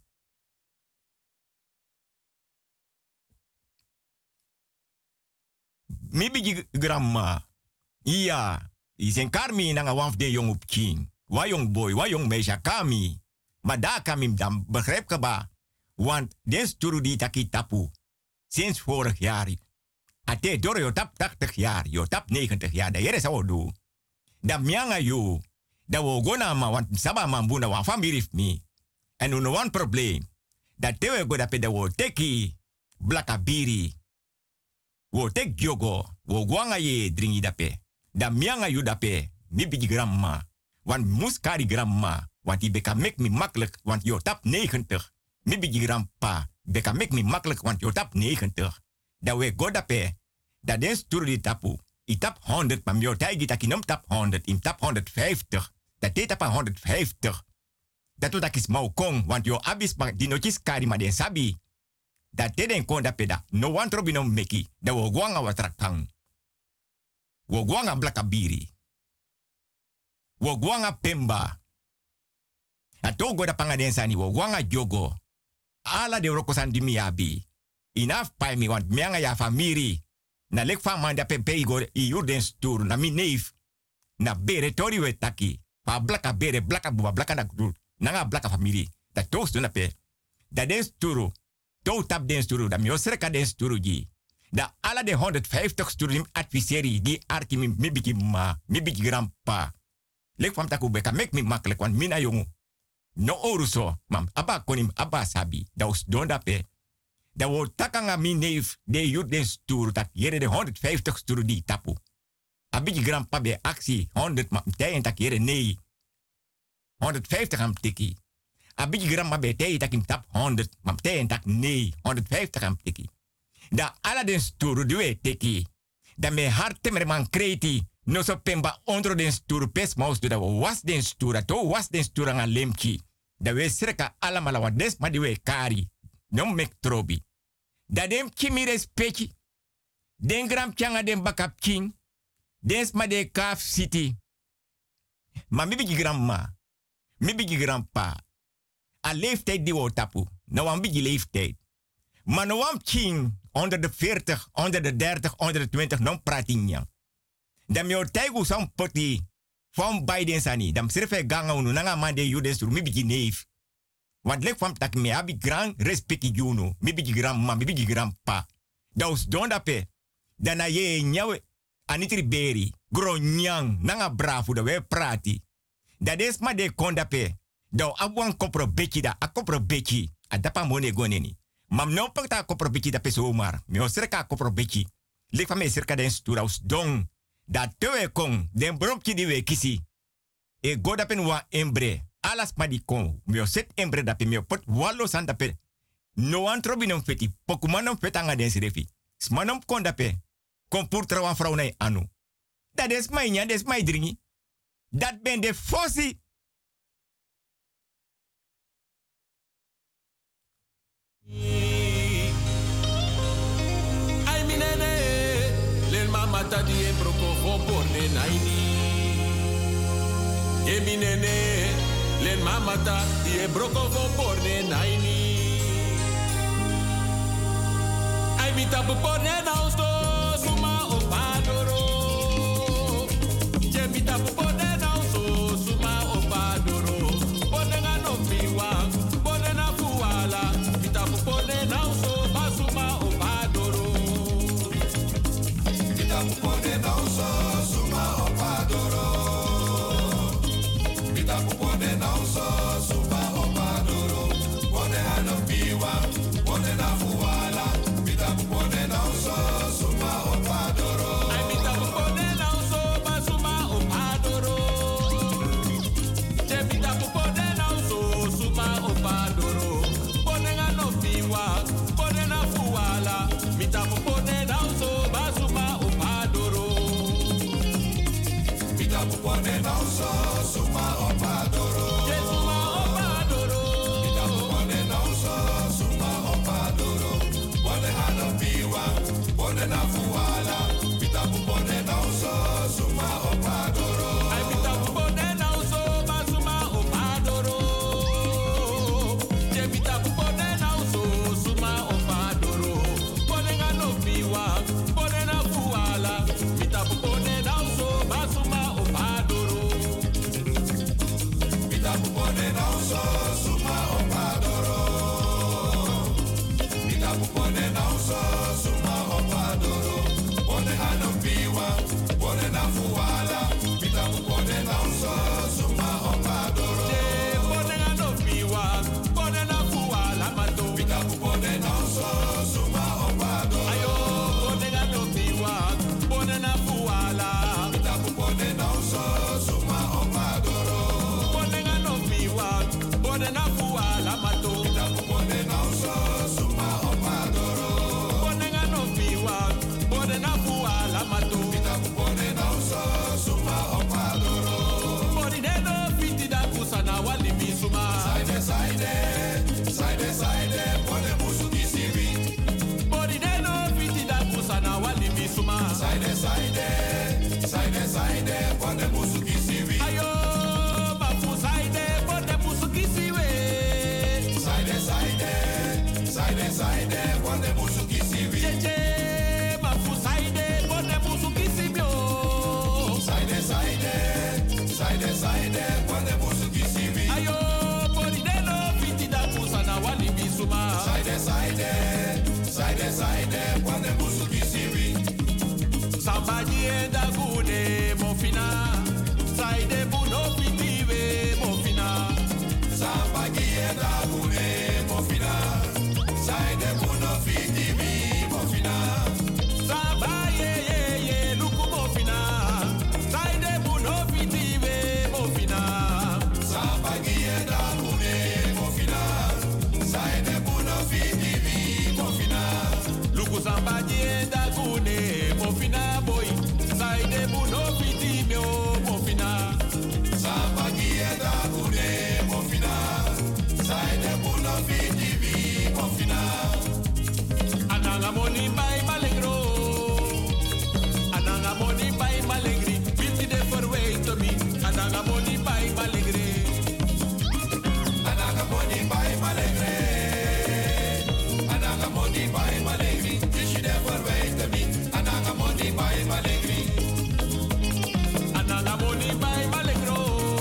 Mi bigi grandma. Ja, isen karmi nanga waf de jong op king. Wa jong boy, wa jong meisje kami. Maar daar kan ik dan begrijp ik ba. Want den sturu die taki tapu. Sinds vorig jaar. Ate door je tap tachtig jaar, je tap negentig jaar. Dat is wat do. Dat mianga you. Dat we gona ma want saba man buna wan family me. En nu no one probleem. Dat tewe go dat pe dat we teki blaka biri. Wo tek yogo, wo gwanga ye dringi dape. Da mianga yu dape, mi bigi grandma. Want moes kari grandma. Want die beka make me makkelijk. Want je tap negentig. Mi bigi grandpa. Beka make me makkelijk. Want je tap negentig. Dat we go dape. Dat den stoer die tapu. I tap honderd. Maar mio taigi tak inom tap honderd. Im tap honderdvijftig. Dat deed tap honderdvijftig. Dat doet dat is mau kong. Want je abis die notjes kari maar den sabi. Dat deed den kon dape da. No one trobinom meki. Dat we guanga wat rakang. We guanga blakabiri. We guanga pemba. Ato go da panga den sani. We guanga jogo. Ala de rokosan di miabi. Inaf pai mi want mianga ya famiri. Na lek fa manda pepe igor i urden stur na mi neef. Na bere tori we taki. Pa blaka bere blaka buba blaka na dur. Nanga blaka famiri. Da toos do na pe. Da den sturu. To tap den sturu. Da mi osreka den sturu ji. Da ala de honderdvijftig sturu nim adviseri. Di arki mi mi biki ma. Mi biki grandpa. Lek fam taku beka mek mi makkelijk. Want mina jongu. No oruso. Mam abba konim abba sabi. Da os don da pe. Da wo takanga mi neef de jut den stoer dat jere de honderdvijftig stoer die tapu. Abiji grandpa be actie honderd ma mtei en tak jere nee. honderdvijftig am tiki. Abiji grandma be tei tak im tap honderd ma mtei en tak nee. honderdvijftig am tiki. Da ala den stoer duwe tiki. Da me harte mer man kreti. No so pemba onder den stoer pes maus do da was den stoer. To was den stoer an lemki. Da we sreka ala mala wa des ma diwe kari. Non mek trobi. Da dem kimi respecti. Den gram changa den bakap king. Den sma de kaf city. Ma mi bigi grandma. Mi bigi grandpa. A leeftijd die we tapu. Nou een bigi leeftijd. Maar nou een king. Onder de veertig, onder de dertig, onder de twintig. Non pratinja. Dan mi o taigu sam poti. Van Biden sani. Dan sirfe ganga unu. Nanga mande judes mi bigi neef. Want lek van tak me abi grand respecti juno. Mi bigi grandma, mi bigi grandpa. Daus don dape. Dana ye nyawe anitri beri. Gronyang. Nanga bravo da we prati. Da des ma de kondape. Dau abuan kopro beki da. A kopro beki. A dapa mone goneni. Mam no pakta kopro beki da peso omar. Mi o serka kopro beki. Lek van me serka den sturaus don. Da tewe kong. Den bromki di we kisi. E godapen wa embre. Alas ma di kon. Mio set embre dape mio pot wallo san dape. No an trobinom feti. Pokumanom fetanga den sirefi. Smanom kon dape. Kon pur trawan vrouw na anu. Dat is mij niet, dat is mij dringi. Dat ben de fossi. Ai minene, len mama ta di e broko vo borne naini. E minene, len mama ta di e broko vo borne naini. Ai mi tapu borne na usto, suma o padoro. Je mi tapu borne na usto, suma o padoro. Borne na no miwa, borne na fuala. Mi tapu borne na usto, basuma o padoro. Mi tapu borne na usto, suma o padoro. Mi tapu borne na usto, suma o padoro. Borne na no miwa, borne na fuala. Mi tapu borne na usto, suma o padoro. Ai mi tapu borne na usto, basuma o padoro. Je mi tapu borne na usto, suma o padoro. Borne na no miwa, borne na fuala. Mi tapu borne na usto, basuma o padoro. Mi tapu borne na usto, suma o padoro. Je suma o padoro. Mi tapu borne na usto, suma o padoro. Borne na no miwa, borne na fuala. Mi tapu borne na usto, suma o padoro. Ai mi tapu borne na usto, basuma o padoro. Je mi tapu borne na usto, suma o padoro. Borne na no miwa, borne na fuala. Mi tapu borne na usto, basuma o padoro. Mi tapu borne na usto, suma o padoro. Mi tapu borne na usto, suma o padoro. Saide, saide, bonde busu kisiwi. Cheche, mafu saide, bonde busu kisibio. Saide, saide, saide, saide, bonde busu kisiwi. Ayo, poridelo, fiti da busa na wali bisuma. Saide, saide, saide, saide, bonde busu kisiwi. Sambaji enda gune mofina. Saide buno fitiwe mofina. Sambaji enda gune mofina. Saide buno fitiwe mofina. Sambaye ye ye luku mofina. Saide buno fitiwe mofina. Sambaji enda gune mofina. Saide buno fitiwe mofina. Luku sambaji enda gune mofina boy. Saide buno fitiwe mofina. Sambaji enda gune mofina. Saide buno fitiwe mofina. Ananga moni bai malegro. Ananga moni bai malegri. Fifty de for way to me. Ananga moni bai malegre. Ananga moni bai malegre. Ananga moni bai malegri. Fifty de for way to me. Ananga moni bai malegri. Ananga moni bai malegro.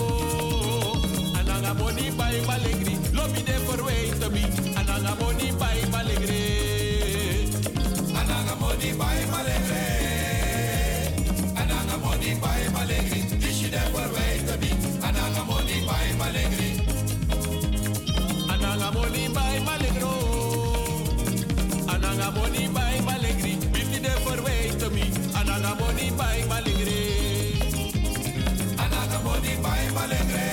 Ananga moni bai malegri. Lobby de for way to me. Ananga moni bai malegre. Ananga moni bai malegre. Ananga moni bai malegri. Fifty de for way to me. Ananga moni bai malegri. Ananga moni bai malegro. Ananga moni bai malegri. Fifty de for way to me. Ananga moni bai malegre. Ananga moni bai malegre.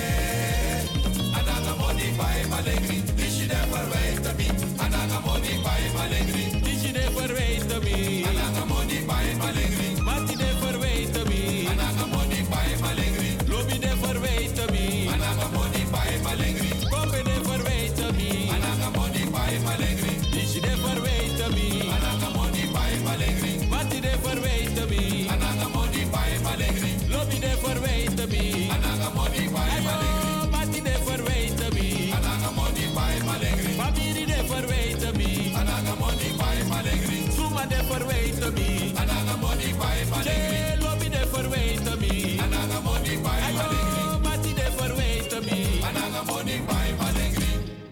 Ananga moni bai malegri. Fifty de for way to me. Ananga moni bai malegri. Fifty de for way to me. Ananga moni bai malegri. Mati de for way to me. Ananga moni bai malegri. Lobby de for way to me. Ananga moni bai malegri. Kombe de for way to me. Ananga moni bai malegri. Fifty de for way to me. Ananga moni bai malegri. Mati de for way to me. Ananga moni bai malegri. Lobby de for way to me. Ananga moni bai malegri. Mati de for way to me. Ananga moni bai malegri. Family de for way to me. Ananga moni bai malegri. Suma de for way to me. Ananga moni bai malegri. Che lobby de for way to me. Ananga moni bai malegri. Mati de for way to me. Ananga moni bai malegri.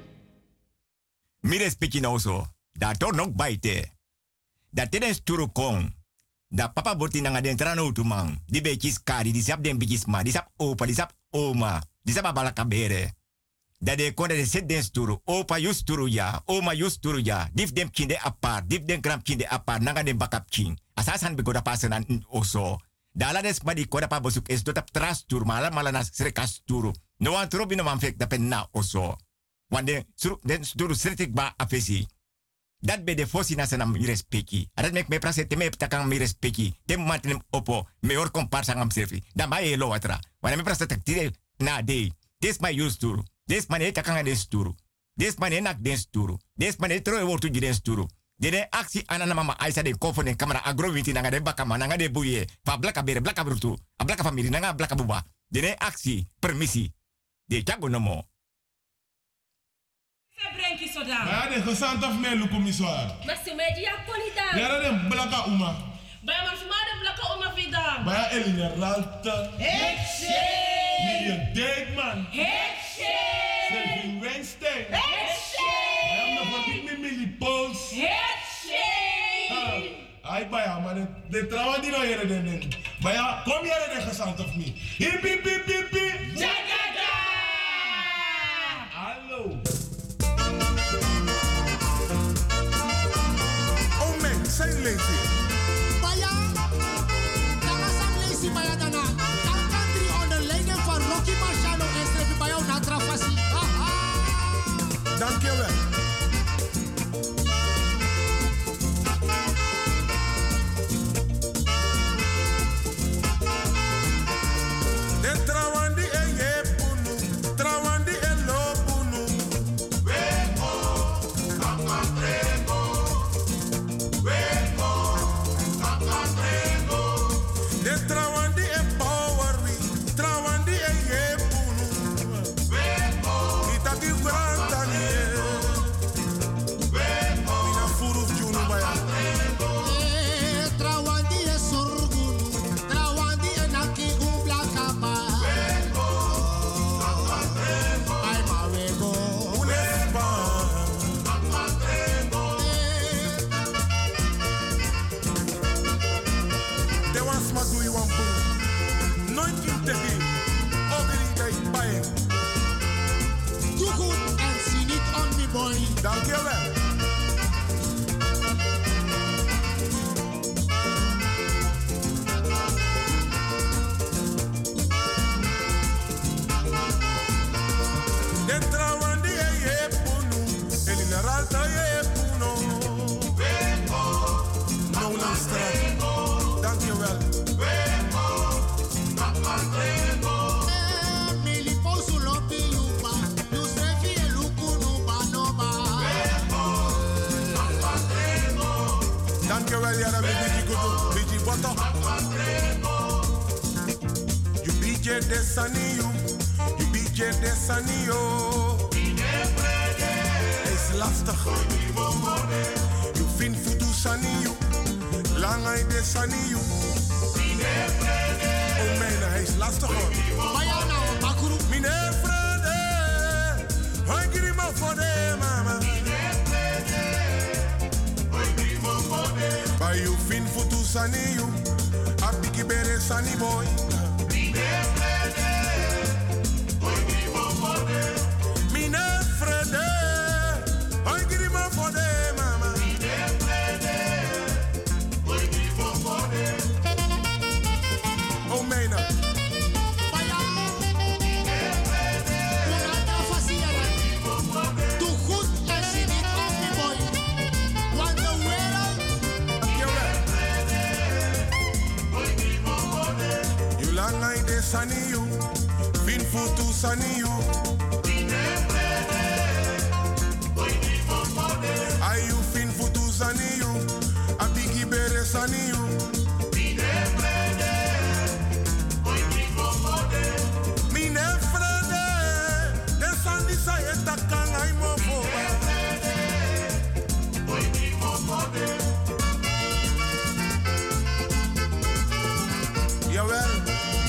Mi respecti nou so. Da tor nok baite. Da teden sturu kong. Da papa boti nanga den trano tu man. Di bekis kari, di sap den bikis ma, di sap opa, di sap oma, di sap abalaka bere. Da de konde de set den sturu. Opa yus sturu ya, oma yus sturu ya. Dif dem kinde apart, dif dem gram kinde apart, nanga den bakap king. Asasan begoda pasenan oso. Da la des ma di koda pa bosuk es dotap tras sturu, mala mala nas srekas sturu. No wan trobi no man fek da pen na oso. Want den, den sturu sretik ba afesi. Dat be de fosi na sana mi respecti. Adat mek me prase te me takang mi respecti. Te mantem opo, me or komparsa ngam servi. Da ma e lo watra. Wana me prase tak tire na day. Des ma use sturu. Des ma ne takang den sturu. Des ma ne nak den sturu. Des ma ne tro e wortu den sturu. De de aksi anana mama aisa de kofo den kamera agro winti nanga de bakama nanga de buye. Fa blaka bere blaka brutu. A blaka famiri nanga blaka buba. De de aksi permisi. De chago no mo. Brenki soda. Ja, de gezant of mij lukt me zwaar. Maar ze mij die akkoord dan. Ja, dat is blaka uma. Bij maar smaar de blaka oma vida. Maar ja, Elina Ralta. Hekse. Miriam Dijkman. Hekse. Selvin Weinstein. Hekse. Ja, maar wat ik met Millie Pauls. Hekse. Ai, baya, maar de, de trouwen die nou hier den. Maar ja, kom hier de gezant of niet. Hip, hip, hip, hip, hip. Jagaga. Hallo. Zijn lazy. Baya, daar zijn lazy baya dana. Dan kan drie onder leiding van Rocky Marciano en strepen bij jou naar Travassi. Dankjewel. De trawandi e ye punu, trawandi e lo punu. Weko, kakatrego. Weko, kakatrego. De trawandi e power we, trawandi e ye punu. Weko, itati granta nie. Dankjewel. You B J Desaniyo, you B J Desaniyo. Het is lastig. You vind futu saniyo, langay Desaniyo. Oh man, hij is lastig hoor. Mine Frede, hoi grimo voor de mama. By you fin futu saniyo, abiki bere sani boy. Saniyo, fin futu saniyo. Ayu fin futu saniyo, abigi bere saniyo. Mine frede, de sandi sa eta kan ay mo foba. Jawel.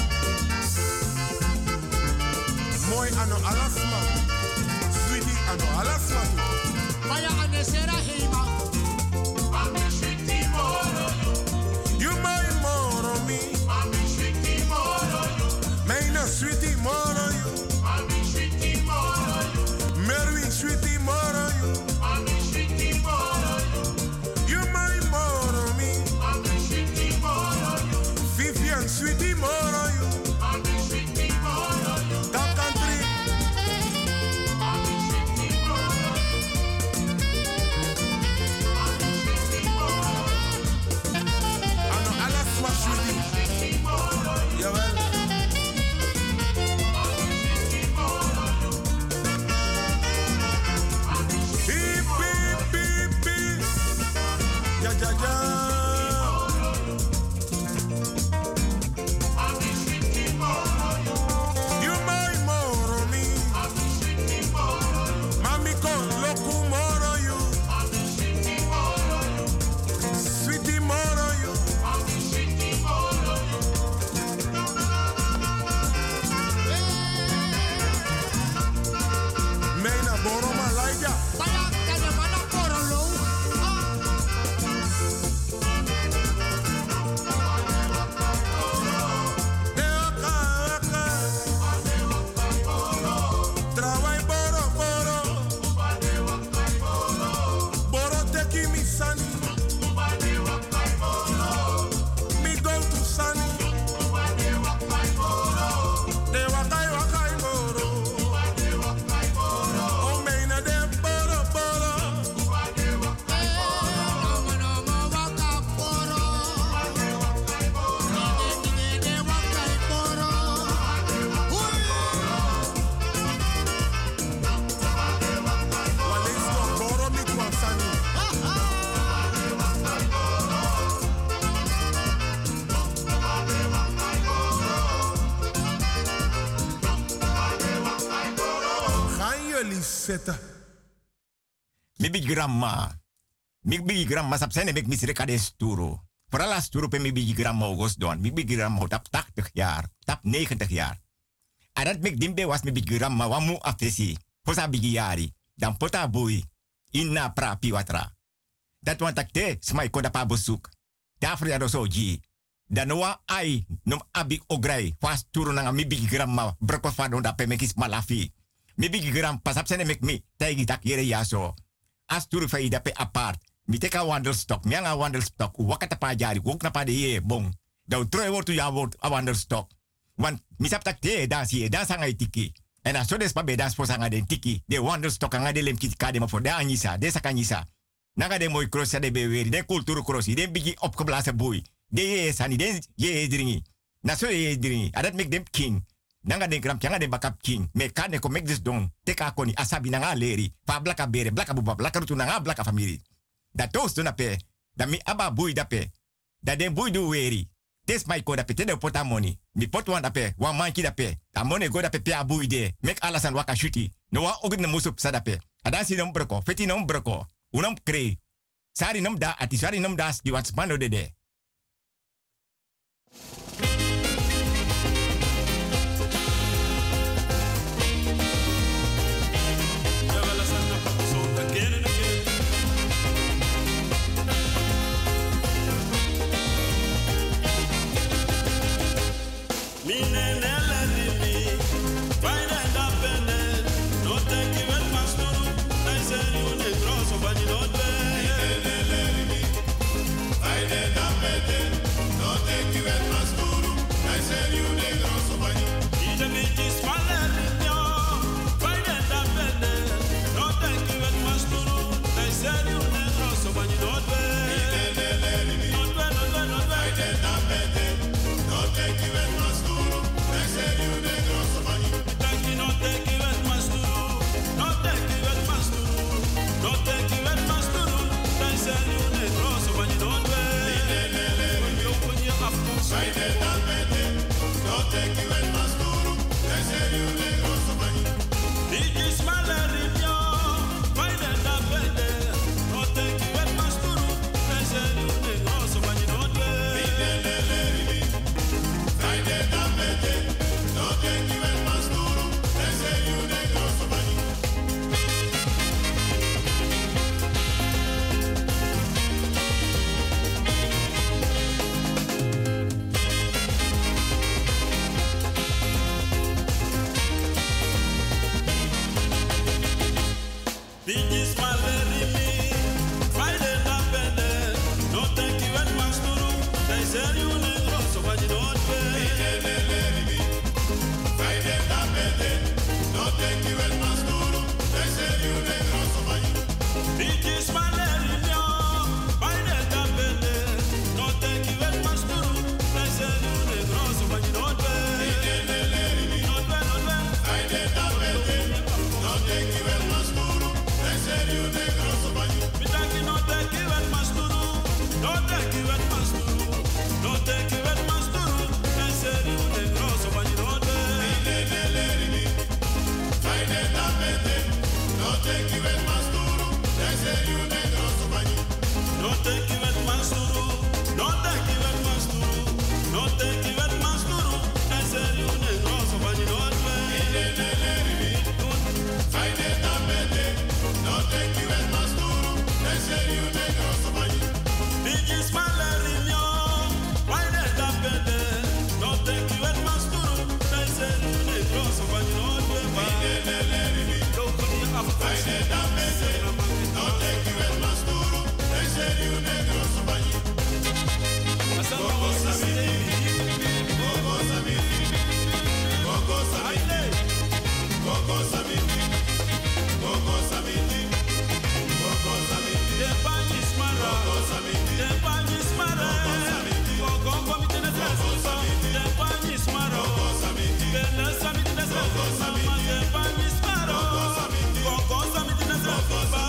Mooi ano alasma, sweetie ano alasma. Vaya anesera heima. Mami sweetie moro you. You my moro me. Mami sweetie moro you. Meina sweetie moro you. Mami sweetie moro you. Merwin sweetie moro you. Mami sweetie moro you. You my moro me. Mami sweetie moro you. Vivian sweetie moro you. Mami sweetie moro you. Jawel. Hip, hip, hip, hip. Ja, ja, ja. You my moro me. Mami con loco moro you. Sweetie moro you. Meina boro malaja. Vaya que de mala por lo. Trabai boro boro. Boro te kimi sani. Mi go to sani. De wakai wakai boro. Zeta. Mi big grandma. Mi big grandma sap zijn ik misrek aan de sturo. Vooral als sturo pe mi big grandma august doen. Mi big grandma tap tachtig jaar, tap negentig jaar. En dat mek dimbe was mi big grandma wamu afesi. Posa big jari. Dan pota boy. Inna pra piwatra. Dat want ik te smai koda pa bezoek. Daarvoor ja zo ji. Dan wa ai nom abi ograi. Fast sturo nanga mi big grandma. Broko fado da pe mekis malafi. Mi big grandpa sap zijn mek mi. Taigi tak yere yaso. asturu fa ida pe apart. Mi teka wandelstok. Mi anga wandelstok. Wakata pa jari. Wok na pa de ye bon. Da troe wordt ja wordt a wandelstok. Want mi sap tak te dans ye dans anga tiki. En as so des pa be dans po sanga den tiki. De wandelstok anga de lem kit kade ma voor de anisa. De sakanyisa. Naga de mooi cross de beweri. De cultuur crossi. De bigi opgeblazen boei. De ye sani. De ye dringi. Na so ye dringi. Adat make them king. Nanga den kram kyanga den bakap king. Me kane ko make this don. Teka koni asabi nanga leri. Fa blaka bere. Blaka buba. Blaka rutu nanga blaka family. Dat toast do na pe. Da mi aba boei da pe. Da den boei do weri. Tes my ko da pe. Te de pota money. Mi pot wan da pe. Wan manki da pe. Da money go da pe pe a boei de. Make alasan waka shuti. No wa ogit na musup sa da pe. Adansi nom broko. Feti nom broko. Unam kree. Sari nom da. Ati sari nom da. Di wat spano de de. Go, go,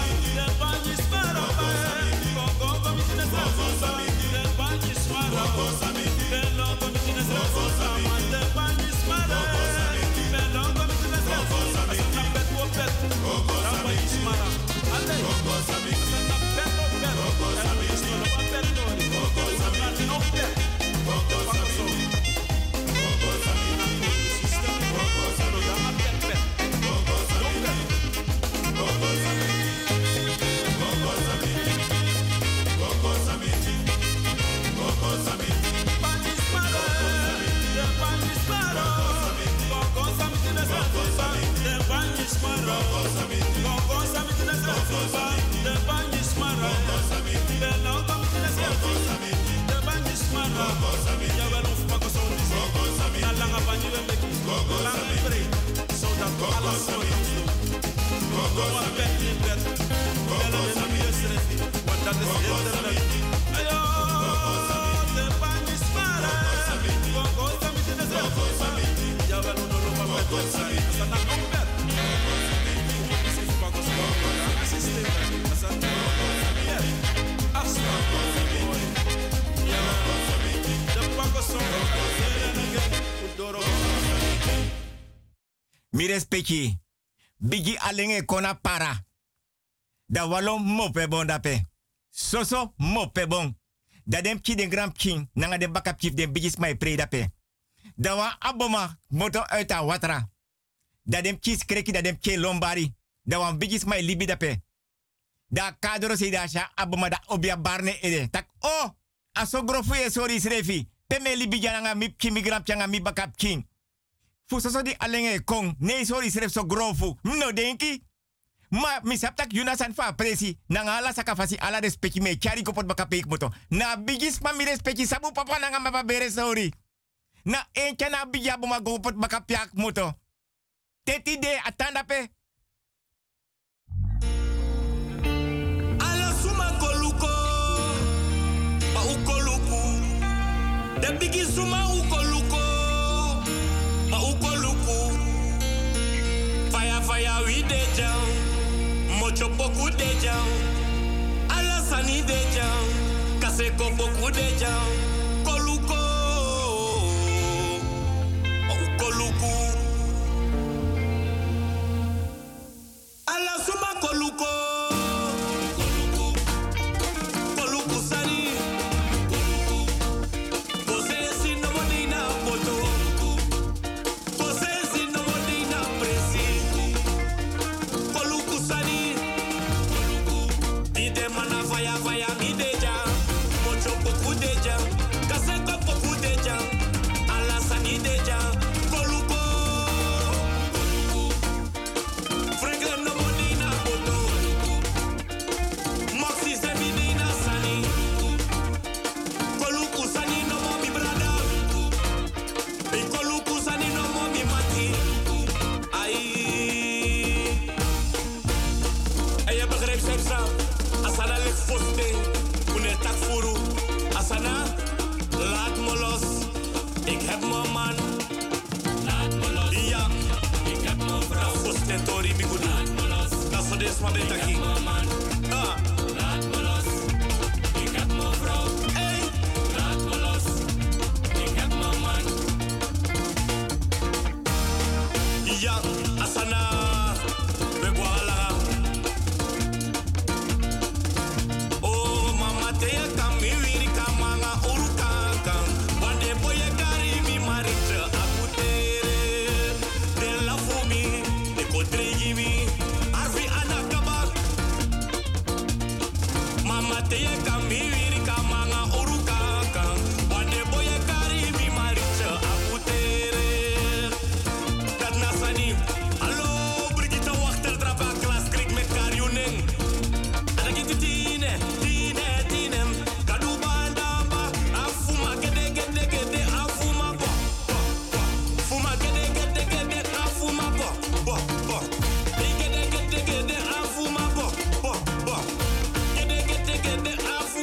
Mi respecti. Bigi alenge kona para. Da walom mope bon dape. Soso mope bon. Da dem ki den grand king. Nanga de bakap chief den bigi smai pre dape. Da wa aboma moto uit a watra. Da dem ki skreki da dem ke lombari. Da wan bigi smai libi dape. Da kadro se da sha aboma da obia barne ede. Tak oh. Aso grofu e sorry srefi. Peme libi jananga mi ki migrant changa mi bakap king. Fusoso di alenge kong. Nee, sorry, schrijf zo grofu. No, denki. Ma, misaptak yuna san fa presi. Nanga ala sakafasi ala respecti me. Chari kopot baka peik moto. Na bigis ma mi respecti. Sabu papa nanga mapa bere sorry. Na enkya na bigya buma kopot baka piak moto. Teti de atanda pe. Ala suma koluko. Pa ukoluku. De bigis suma ukoluko. Ma ukoluku. Fire fire we de jam. Mocho poku de jam. Ala sani de jam. Kase ko poku de jam. Koluko. Ma ukoluku. Ala suma koluko. Koluku. Koluku sani. Koluku. Kose si no modina poto. Fire, fire, mi deja. Mocho poku deja. Kaseko poku deja. Alasani deja. Koluko. Franklin no modina boto. Moxie se midina sani. Koluku sani no mo mi brada. E koluku sani no mo mi mati. Ai. En je begrijpt zelfs aan. Asana ligt foste, une tak furu. Asana, laat me los. Ik heb mijn man. Laat me los. Ja, ik heb mijn vrouw. Foste tori mi goed. Laat me los. Dat is deze maar beter ging. Ah. Laat me los. Ik heb mijn vrouw. Hey. Laat me los. Ik heb mijn man. Ja, asana. We boala. Afuma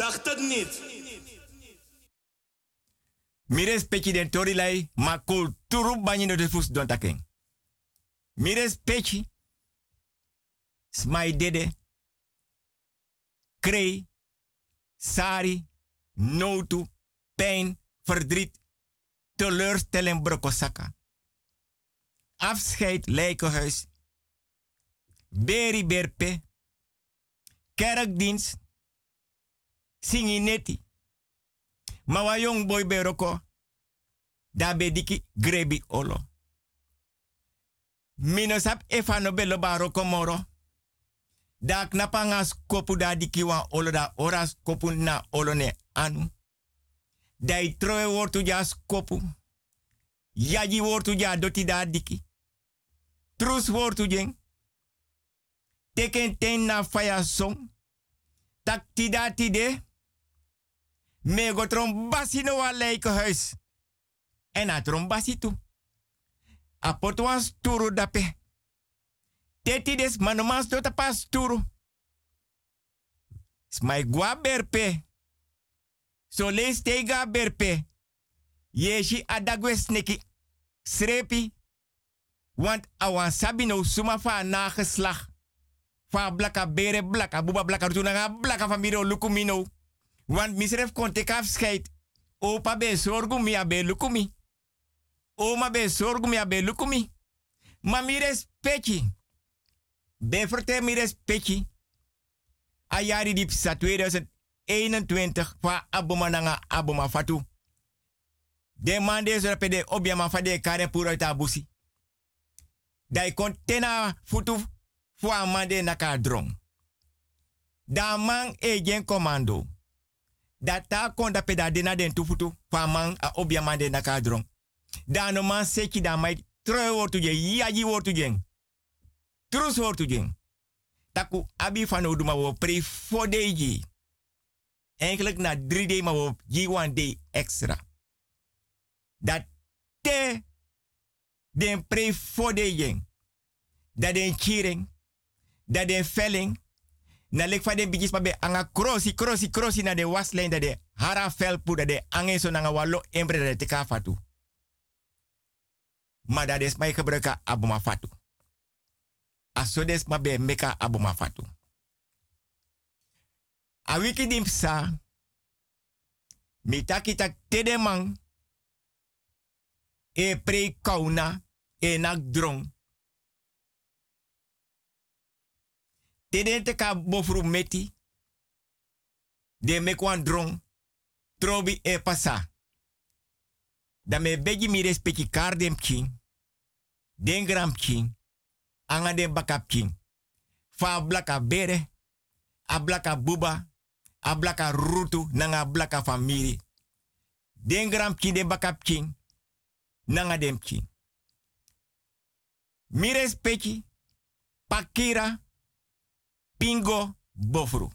dacht het niet. Mires peki den torilai, ma kulturu banyi no de fus don taking. Mires peki, smai dede, krei, sari, notu, pijn, verdriet, teleurstelling brokosaka. Afscheid, lijkenhuis, beri berpe, kerkdienst, singineti. Maar wa jong boy beroko, da be diki grebi olo. Minosap efano belo baroko moro. Da knapanga skopu da diki wan olo da ora skopu na olo ne anu. Dai troe wortu ja skopu. Yaji wortu ja doti da diki. Trus wortu jeng. Teken ten na faya song. Tak tida tide. Mego trom basi no wa leike huis. En a trom basi tu. A potwan sturu dape. Teti des manomans tot a pas sturu. Smai gwa berpe. So le stega berpe. Yeshi adagwe sneki. Srepi. Want awan sabino suma fa nageslag. Fa blaka bere blaka buba blaka rutunanga blaka famiro lukumino. Want misref kon tek afscheid. Opa be sorgu mi abe lukumi. Oma be sorgu mi abe lukumi. Ma mi respecti. Be verte mi respecti. Ayari dip sa tweeduizend eenentwintig fa aboma nanga aboma fatu. De mande zo pede obiama fa de kare puro tabusi. Dai kon tena futu fu amande naka drong. Da man e gen commando. Data kon da peda dena den tufutu fa man a obiama de naka drong. Da no man seki da mai troe wortu je yaji wortu jeng. Trus wortu jeng. Taku abi van oduma wo pre four day. Eigenlijk na drie day maar wo G one day extra. Dat te den pre four day jeng. Dat den cheering. Dat den velling. Na lek van den bijis maar be anga crossi crossi crossi na de waslijn dat de hara velpu dat de ange so nanga walo embre dat te ka fatu. Maar dat is mij gebruiken aboma fatu. Asodes ma be meka aboma fatu. A wiki dimpsa. Mitaki tak tedemang. E pre kauna. E nak drong. Teden te ka bofru meti. De mekwan drong. Trobi e pasa. Da me begi mi respecti kardem king. Den gram king. Anga den bakap king. Fa blaka bere. A blaka buba. A blaka rutu. Nanga blaka famiri. Den gram king den bakap king. Nanga dem king. Mi respecti. Pakira. Pingo bofru.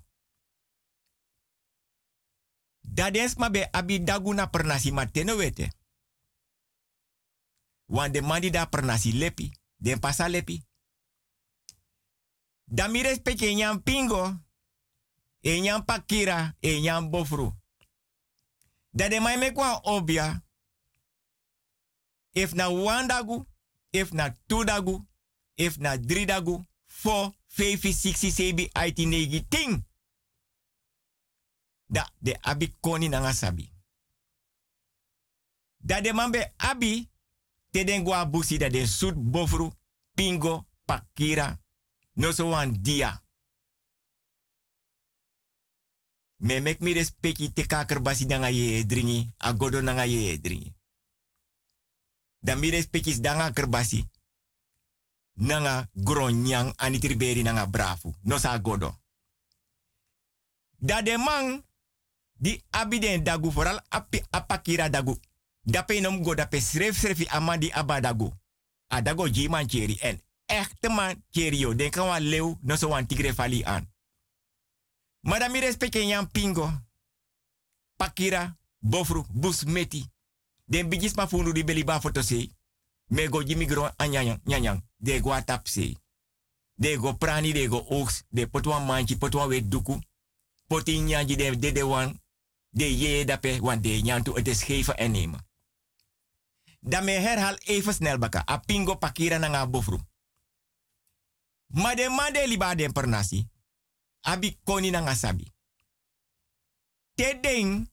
Dadens ma be abi daguna pernasi mateno wete. Wan de mandi da pernasi lepi. Den pasa lepi. Da mi respecte nyam pingo. E nyam pakira. E nyam bofru. Da de mai me kwa obia. If na one dagu. If na two dagu. If na drie dagu. Four. Vijf, zes, zeven, acht, negen, tien. Da de abi koni nanga sabi. Da de mambe abi. Te den gwa busi da den sud bofru. Pingo. Pakira. No so wan dia. Me mek mi respecti te kaker basi nanga ye dringi. Agodo nanga ye dringi. Da mi respecti danga kerbasi. Nanga gronyang anitriberi nanga brafu. No sa godo. Da de man. Di abiden dagu foral api apakira dagu. Dape nom go dape sref srefi amandi abadagu. Adago jiman cheri en. Echte man cherio. Den kan wan leeuw. No so wan tigre fali aan. Madame respecte nyam pingo. Pakira. Bofru. Busmeti. Den bigis ma funu di beli ba fotose. Me go jimi gro anyanyang. Nyanyang. De go atapse. De go prani de go oaks. De potwa manchi potwa we duku. poti nyanji de de de wan. De je dape, want de nyantu het is geven en nemen. Dan me herhaal even snel baka. A pingo pakira na nga bofru. Maar de man de liba den pernasi. Abi koni na nga sabi. Te ding.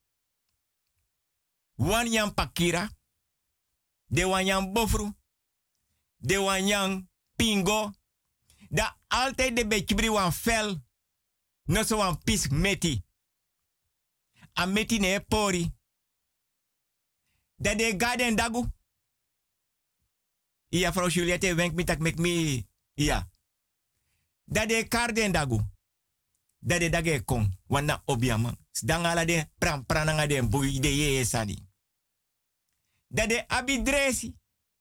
Wan yang pakira. De wan yang bofru. De wan yang pingo. Da altijd de bekibri wan fel. No so wan pis meti. A meti ne pori. Da de garden dagu. Iya, vrouw Juliette, wenk me tak mek me. Iya. Da de garden dagu. Da de dage kong. Wana obiama. Dangala de pram prananga de bui de ye sani. Da de abi dresi.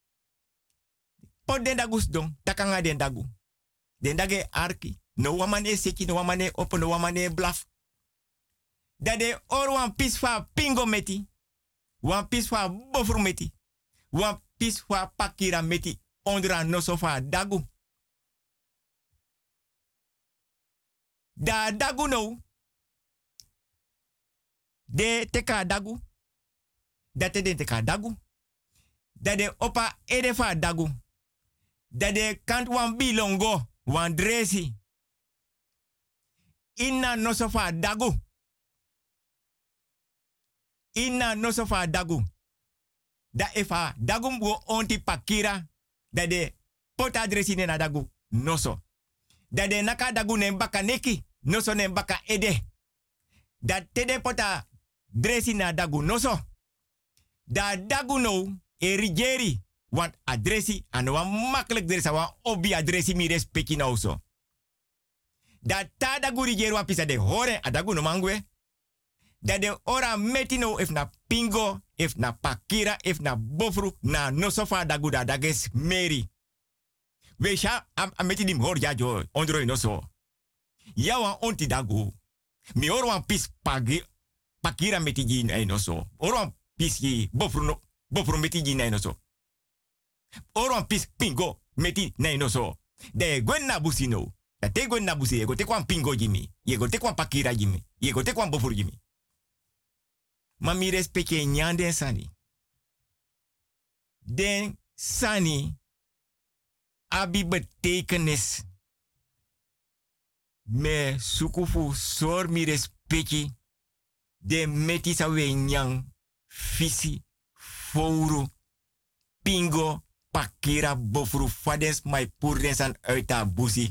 Pot den dagus dong. Takanga den dagu. Den dage arki. No wamane seki, no wamane open, no wamane blaf. Da de or wan pis fa pingo meti. Wan pis fa bofru meti. Wan pis fa pakira meti. Ondra no sofa dagu. Da dagu no. De teka dagu. Da te de teka dagu. Da de opa edefa dagu. Da de kant wan bilongo. Wan dresi. Inna no sofa dagu. Inna no sofa dagu. Da efa dagu mbo onti pakira. Da de pota dresi na dagu. Noso. Da de naka dagu ne baka neki. Noso ne baka ede. Da tede pota dresi na dagu. Noso. Da dagu no erigeri. Want adresi en wan makkelijk dresa wan obi adresi mi respecti nou zo. Da ta dagu rigeri wan pisa de hore adagu no mangwe. Da de ora metino if na pingo, if na pakira, if na bofru, na no sofa dagu da dages meri. Weesha am, am meti dim hor ja jo ondroi no so. Ya wan onti dagu. Mi or wan pis pagi, pakira meti jin ay no so. Or wan pis yi bofru no, bofru meti jin ay no so. Or wan pis pingo meti nay no so. De gwen na busi no. Da te gwen na busi ye go te kwan pingo jimi. Ye go te kwan pakira jimi. Ye go te kwan bofru jimi. Ma mi respecte nyande sani. Den sani abi betekenis. Me sukufu sor mi respecte de meti sa we nyang fisi fouru pingo pakira bofru fades mai purdensan uit busi.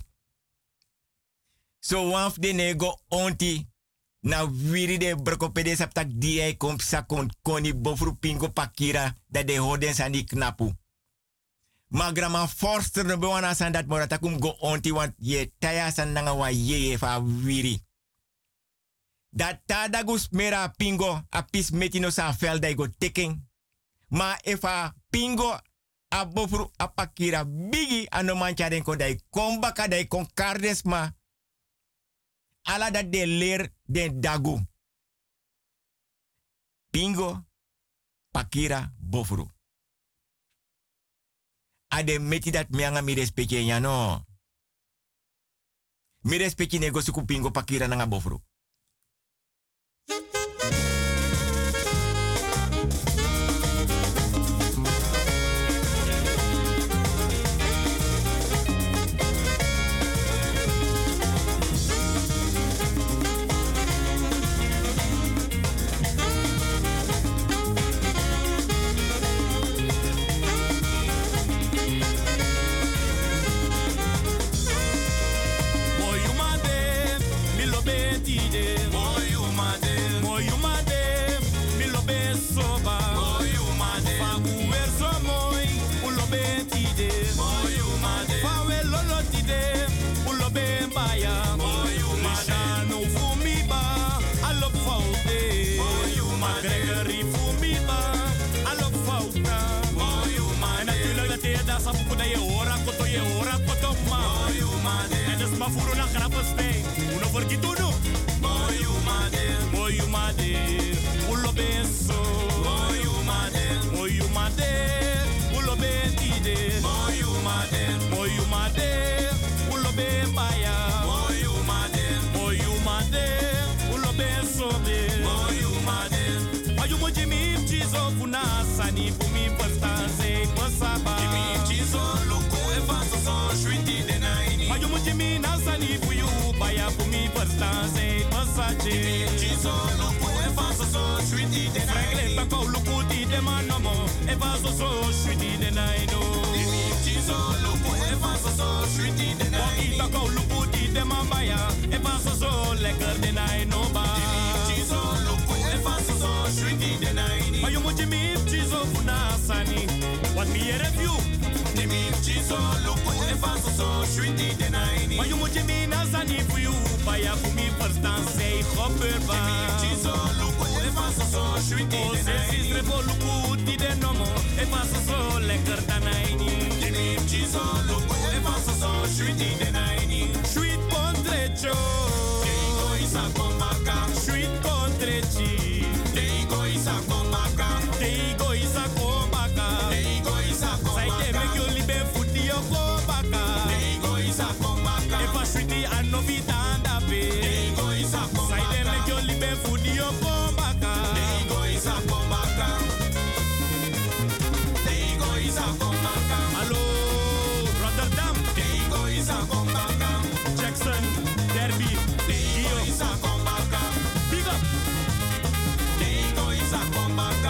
So wanf de nego onti na wiri de brokopede saptak die ai kom sakon koni bofru pingo pakira da de hoden sani knapu. Ma grama forster no bewana san dat moratakum go onti want ye taya san nanga wa ye fa wiri. Dat tadagus mera pingo a pis metino sa velda go teken. Ma efa pingo a bofru a pakira bigi ano mancha den ko dai kombaka dai kon kardes ma. Ala dat de leer den dagu. Pingo, pakira, bofru. Ade meti dat mianga mi respecte ya no. Mi respecte nego suku pingo, pakira nanga bofru. Boy, you man, mi lo beti sobe. Moyu made. Mayu mo Jimmy chizo funa sani fumi pasta se pasaba. Jimmy chizo luku e faso so shwiti de naini. Mayu mo Jimmy na sani fuyu baya fumi pasta se pasache. Jimmy chizo luku e faso so shwiti de naini. Fragle tako luku di de manomo e faso so shwiti de naino. Jimmy chizo luku e faso so shwiti de naini. Waki tako luku di de mambaya e faso so lekker de naino ba. Jimmy chizo luku e faso so shwiti de naini. Mayu mo Jimmy chizo funa sani. Wat mi e review. Jimmy chizo luku e faso so shwiti de naini. Mayu mo Jimmy na sani for you. Baya for me first dance say hopper ba. Jimmy chizo luku e faso so shwiti de naini. Sis revo luku di de nomo e faso so lekker de naini. Jimmy chizo luku e faso so shwiti de naini. Sweet pontrecho. Deigo isa komaka. Sweet pontrechi. Deigo isa komaka. Deigo isa komaka. Deigo isa komaka. Sai de make you libe futi yo komaka. Deigo isa komaka. E fa sweetie and no vitanda pe. Deigo isa komaka. Sai de make you libe futi yo komaka. Deigo isa komaka. Deigo isa komaka. Hallo Rotterdam. Deigo isa komaka. Jackson Derby. Deigo isa komaka. Big up. Deigo isa komaka.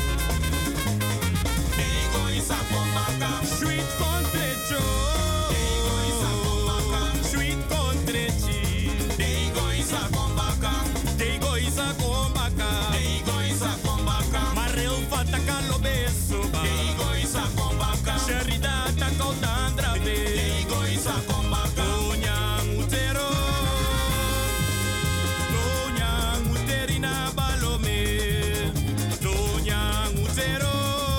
Deigo isa komaka. Sweet contrecho. Deigo isa komaka. Sweet contrechi. Deigo isa komaka. Deigo isa komaka. Deigo isa komaka. Maril fataka lo beso ba. Deigo isa komaka. Sherida takau tandra be. Deigo isa komaka. Tonyang utero. Tonyang uterina balome. Tonyang utero.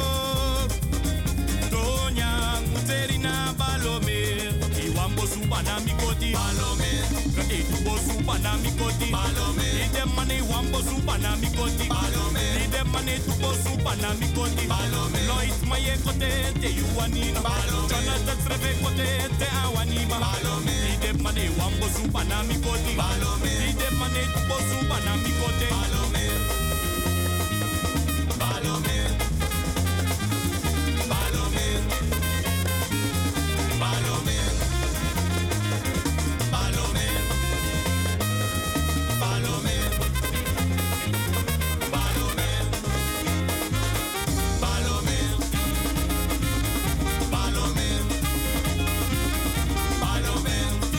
Tonyang uterina balome. Iwambo supa na mikoti. Balome. Kati tubo supa na mikoti. Balome. Ide mane wambo supa na mikoti. Balome. Ide mane tubo supa na mikoti. Balome. Loit maye kote te yuanina. Balome. Jonathan Sreve kote te awanima. Balome. Ide mane wambo supa na mikoti. Balome. Ide mane tubo supa na mikoti. Balome. Balome. Balome. Balome. Balome. Balome. Balome. Balome. Balome. Balome.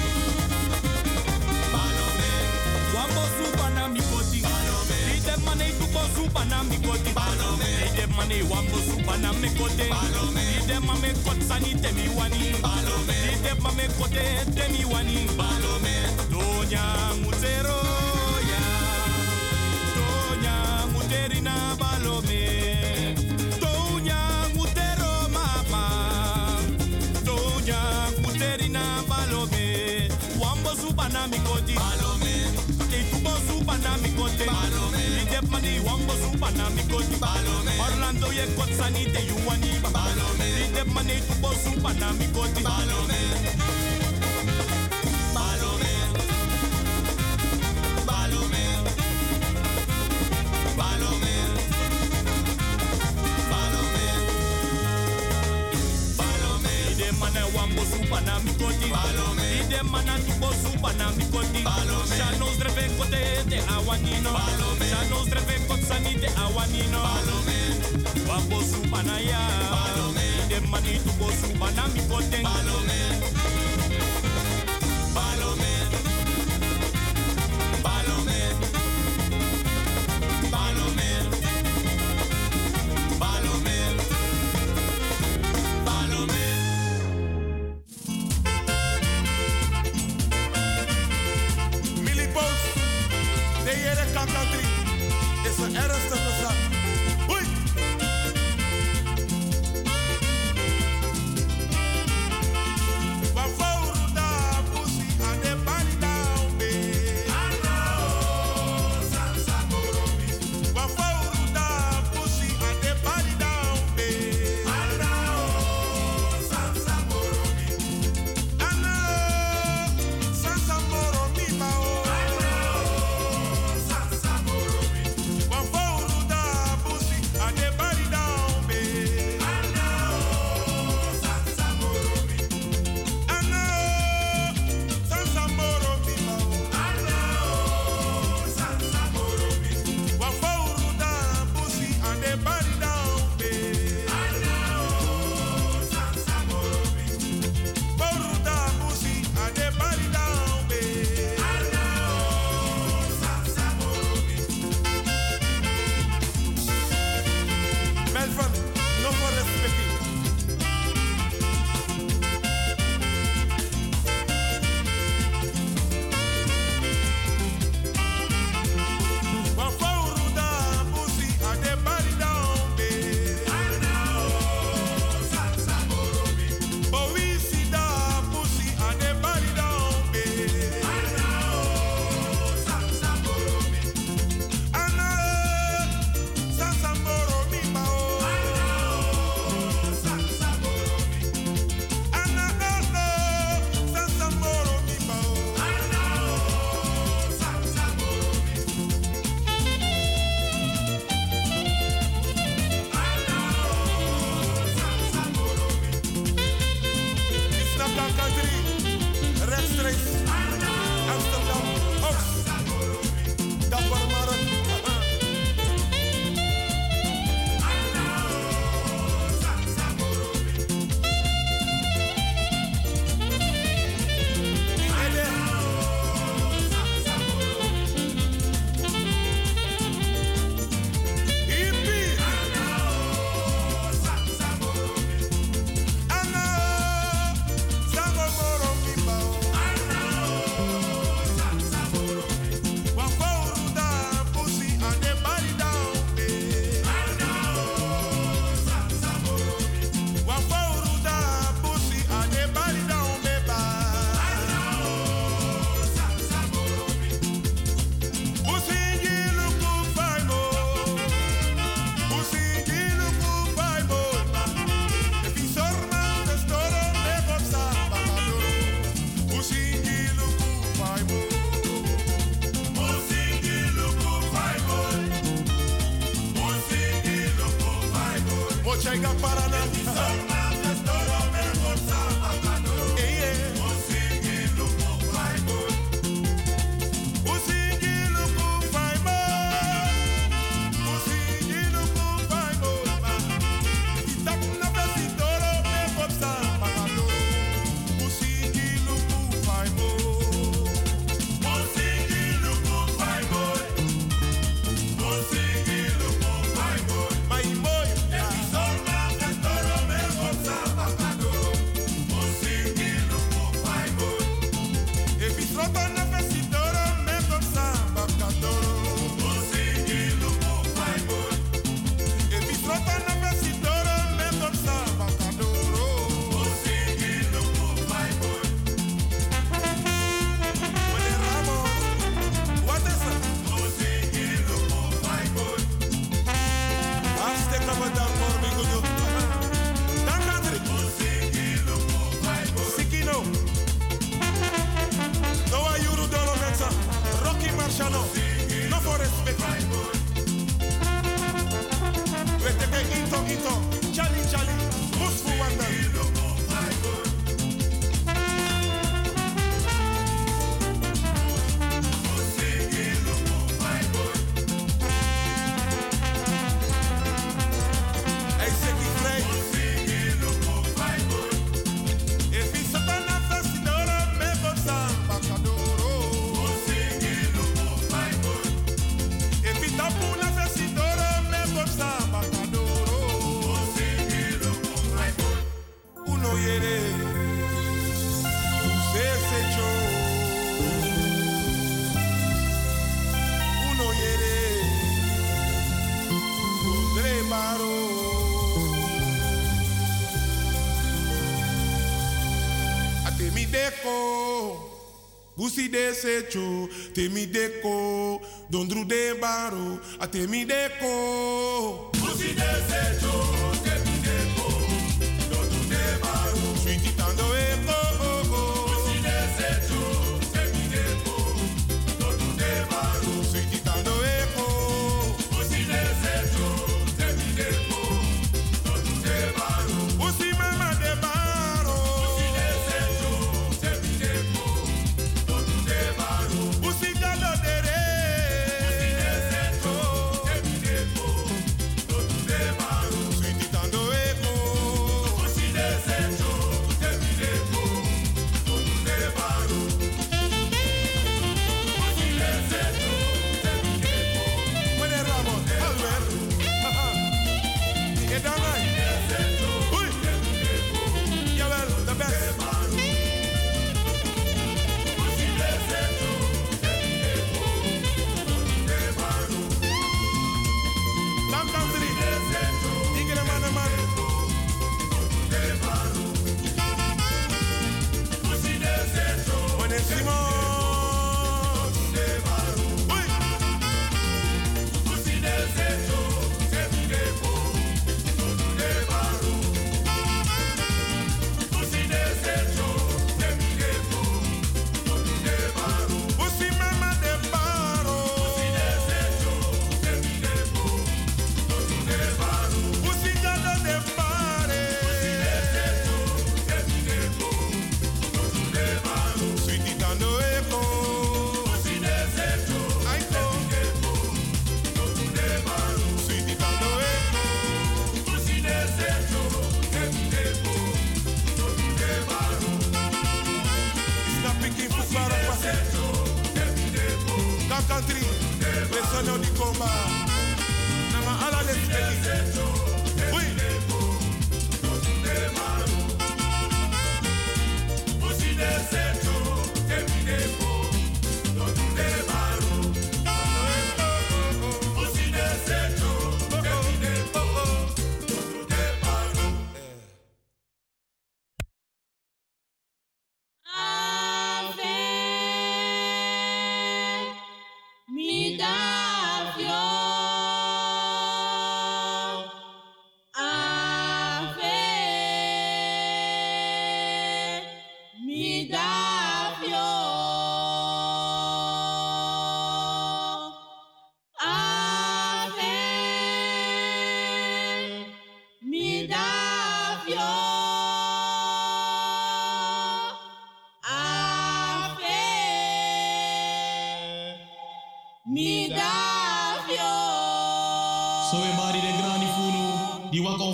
Balome. Wambo supa na mikoti. Balome. Ide mane tubo supa na mikoti. Balome. Ide mane wambo supa na mikoti. Balome. Ide mame kot sani temi wani. Balome. Ide mame kote temi wani. Balome. Donya mutero ya. Donya muterina balome. Donya mutero mama. Donya muterina balome. Wambo supa na mikoti. Balome. Itubo supa na mikoti. Balome. Ide mane wambo supa na mikoti. Balome. Orlando ye kot sani te yuani. Balome. Ide mane tubo supa na mikoti. Balome. Balome. Balome. Balome. Balome. Balome. Ide mane wambo supa na mikoti. Balome. Ide mana tubo supa na mikoti. Balome. Shanos dreve kote te awanino. Balome. Shanos dreve kot sani te awanino. Balome. Wambo supa na ya. Balome. Ide mani tubo supa na mikoti. Balome. Balome. Balome. Balome. Balome. Balome. Milipos, de Jere Country is een ernstige zaak. Oei! Sansa Taiga Parana. Busi de secho, temi deko, dondru de baro, a temi deko. Busi de secho, temi deko, dondru de baro, sweetie tando eko. Busi de secho, temi deko, dondru de baro, sweetie tando eko. Busi de secho, temi deko, dondru de baro, busi mama de baro. Busi de secho, temi deko. Sweetie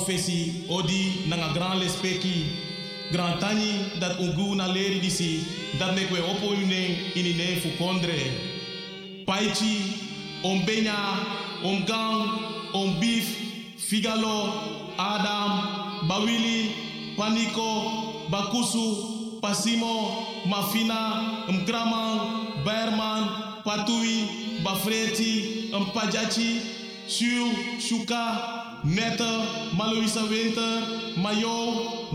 professie odi nanga grand lespeki grand tani dat ungu na leri disi dat mek we opo une inine fu kondre paichi om benya om gang om beef figalo adam bawili paniko bakusu pasimo mafina mkraman berman patui bafreti mpajachi Shu, Shuka, Nette, Maloisa Winter, Mayo,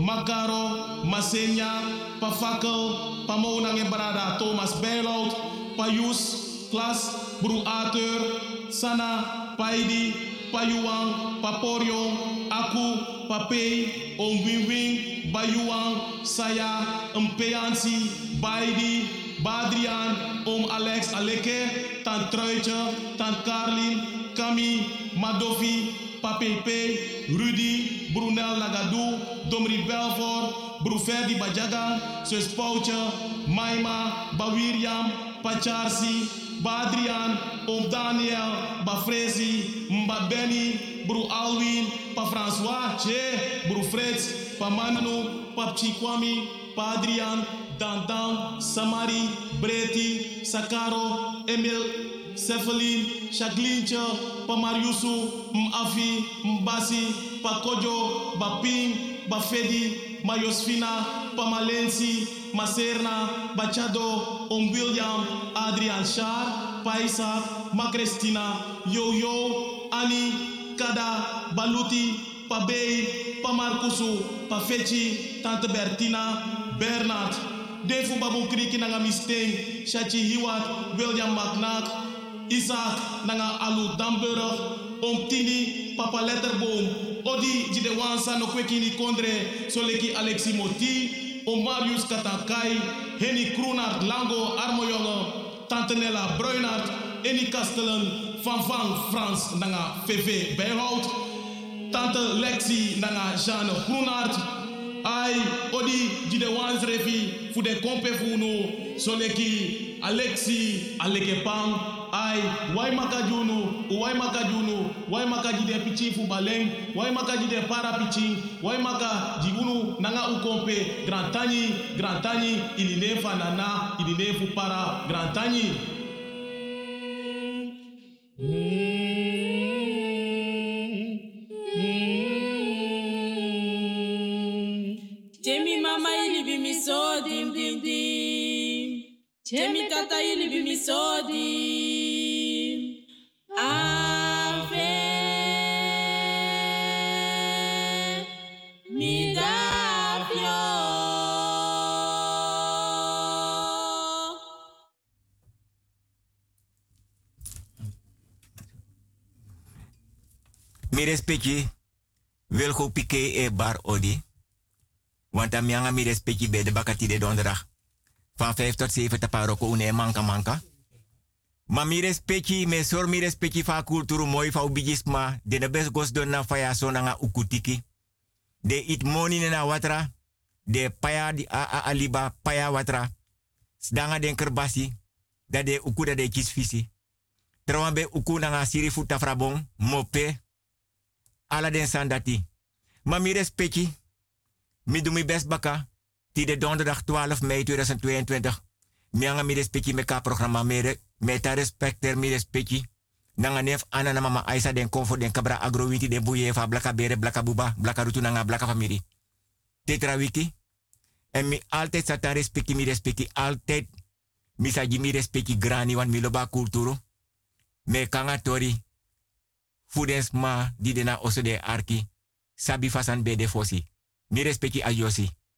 Makaro, Masenya, Pafakel, Pamonang en Brada, Thomas Bijlout, Payus, Klas, Bru Ater, Sana, Paidi, Payuang, Paporio, Aku, Papei, Om Wing Wing, Bayuang, Saya, Mpeansi, Baidi, Badrian, Om Alex Aleke, Tant Truitje, Tant Carlin, Kami, Madofi, Papepe, Rudy, Brunel Lagadou, Domri Belfort, Bruferdi Bajaga, Sus Pouche, Maima, Bawiriam, Pacharsi, Badrian, Om Daniel, Bafrezi, Mbabeni, Bru Alwin, Pa François, Che, Bru Freds, Pa Manu, Pa Chikwami, Pa Adrian, Dandan, Samari, Breti, Sakaro, Emil, Cephalin, Shaglincha, Pa Mariusu, Mafi, Mbasi, Pa Kojo, Baping, Bafedi, Mayosfina, Pa Malensi, Maserna, Bachado, Om William, Adrian Shar, Pa Isaac, Ma Cristina, Yo Yo, Ani, Kada, Baluti, Pa Bey, Pa Marcusu, Pa Fechi, Tante Bertina, Bernard, Defu Babu Kriki Nanga Misteng, Shachi Hiwat, William McNack, Isaac Nanga Alu Damburg, Om Tini, Papa Letterboom, Odi Jidewansa no Kwekini Kondre, Soleki Alexi Moti, Om Marius Katakai, Henny Kroenart Lango Armojonge, Tante Nella Bruinart, Eni Kastelen, Van Van Frans Nanga V V Bijhout, Tante Lexi Nanga Jeanne Groenart, Ai, Odi, Jide Wansrefi, Fude Kompe Funo, Soleki, Alexi, Alekepang, Ai, Wai Makajunu, Wai Makajunu, Wai Makajide Pichi Fubaleng, Wai Makajide Para Pichi, Wai Makajigunu, Nanga Ukompe, Grand Tani, Grand Tani, Iline Fanana, Iline Fupara, Grand Tani. Jemi mama ili bi mi so dim dim dim. Jemi tata ili bi mi so dim. Ave mi dafio. Mi respecti Wilgo Piqué e Bar Odi. Want dan mianga mi respecti bij de bakati de donderdag. Van vijf tot zeven te paroko une manka manka. Maar mi respecti, me sor mi respecti van cultuur mooi van ubigisma. De ne best gos don na faya so na ukutiki. De it moni na watra. De paya di a a aliba paya watra. Sdanga den kerbasi. Da de uku da de kisfisi. Trawambe uku na siri futa frabong. Mope. Ala den sandati. Maar mi respecti. Mi doe mijn best baka. Die de donderdag twaalf mei tweeduizend tweeëntwintig. Mi anga mi respecti meka programma mere. Meta respecter mi respecti. Nanga nef ana na mama Aisa den comfort den kabra agrowiti den buye fa blaka bere blaka buba blaka rutu nanga blaka famiri. Tetra wiki. En mi altijd sata respecti mi respecti altijd. Mi saji mi respecti grani wan mi loba kulturu. Me kanga tori. Fudens ma di dena oso de arki. Sabi fasan bede fosi. Mi respecti a Yossi.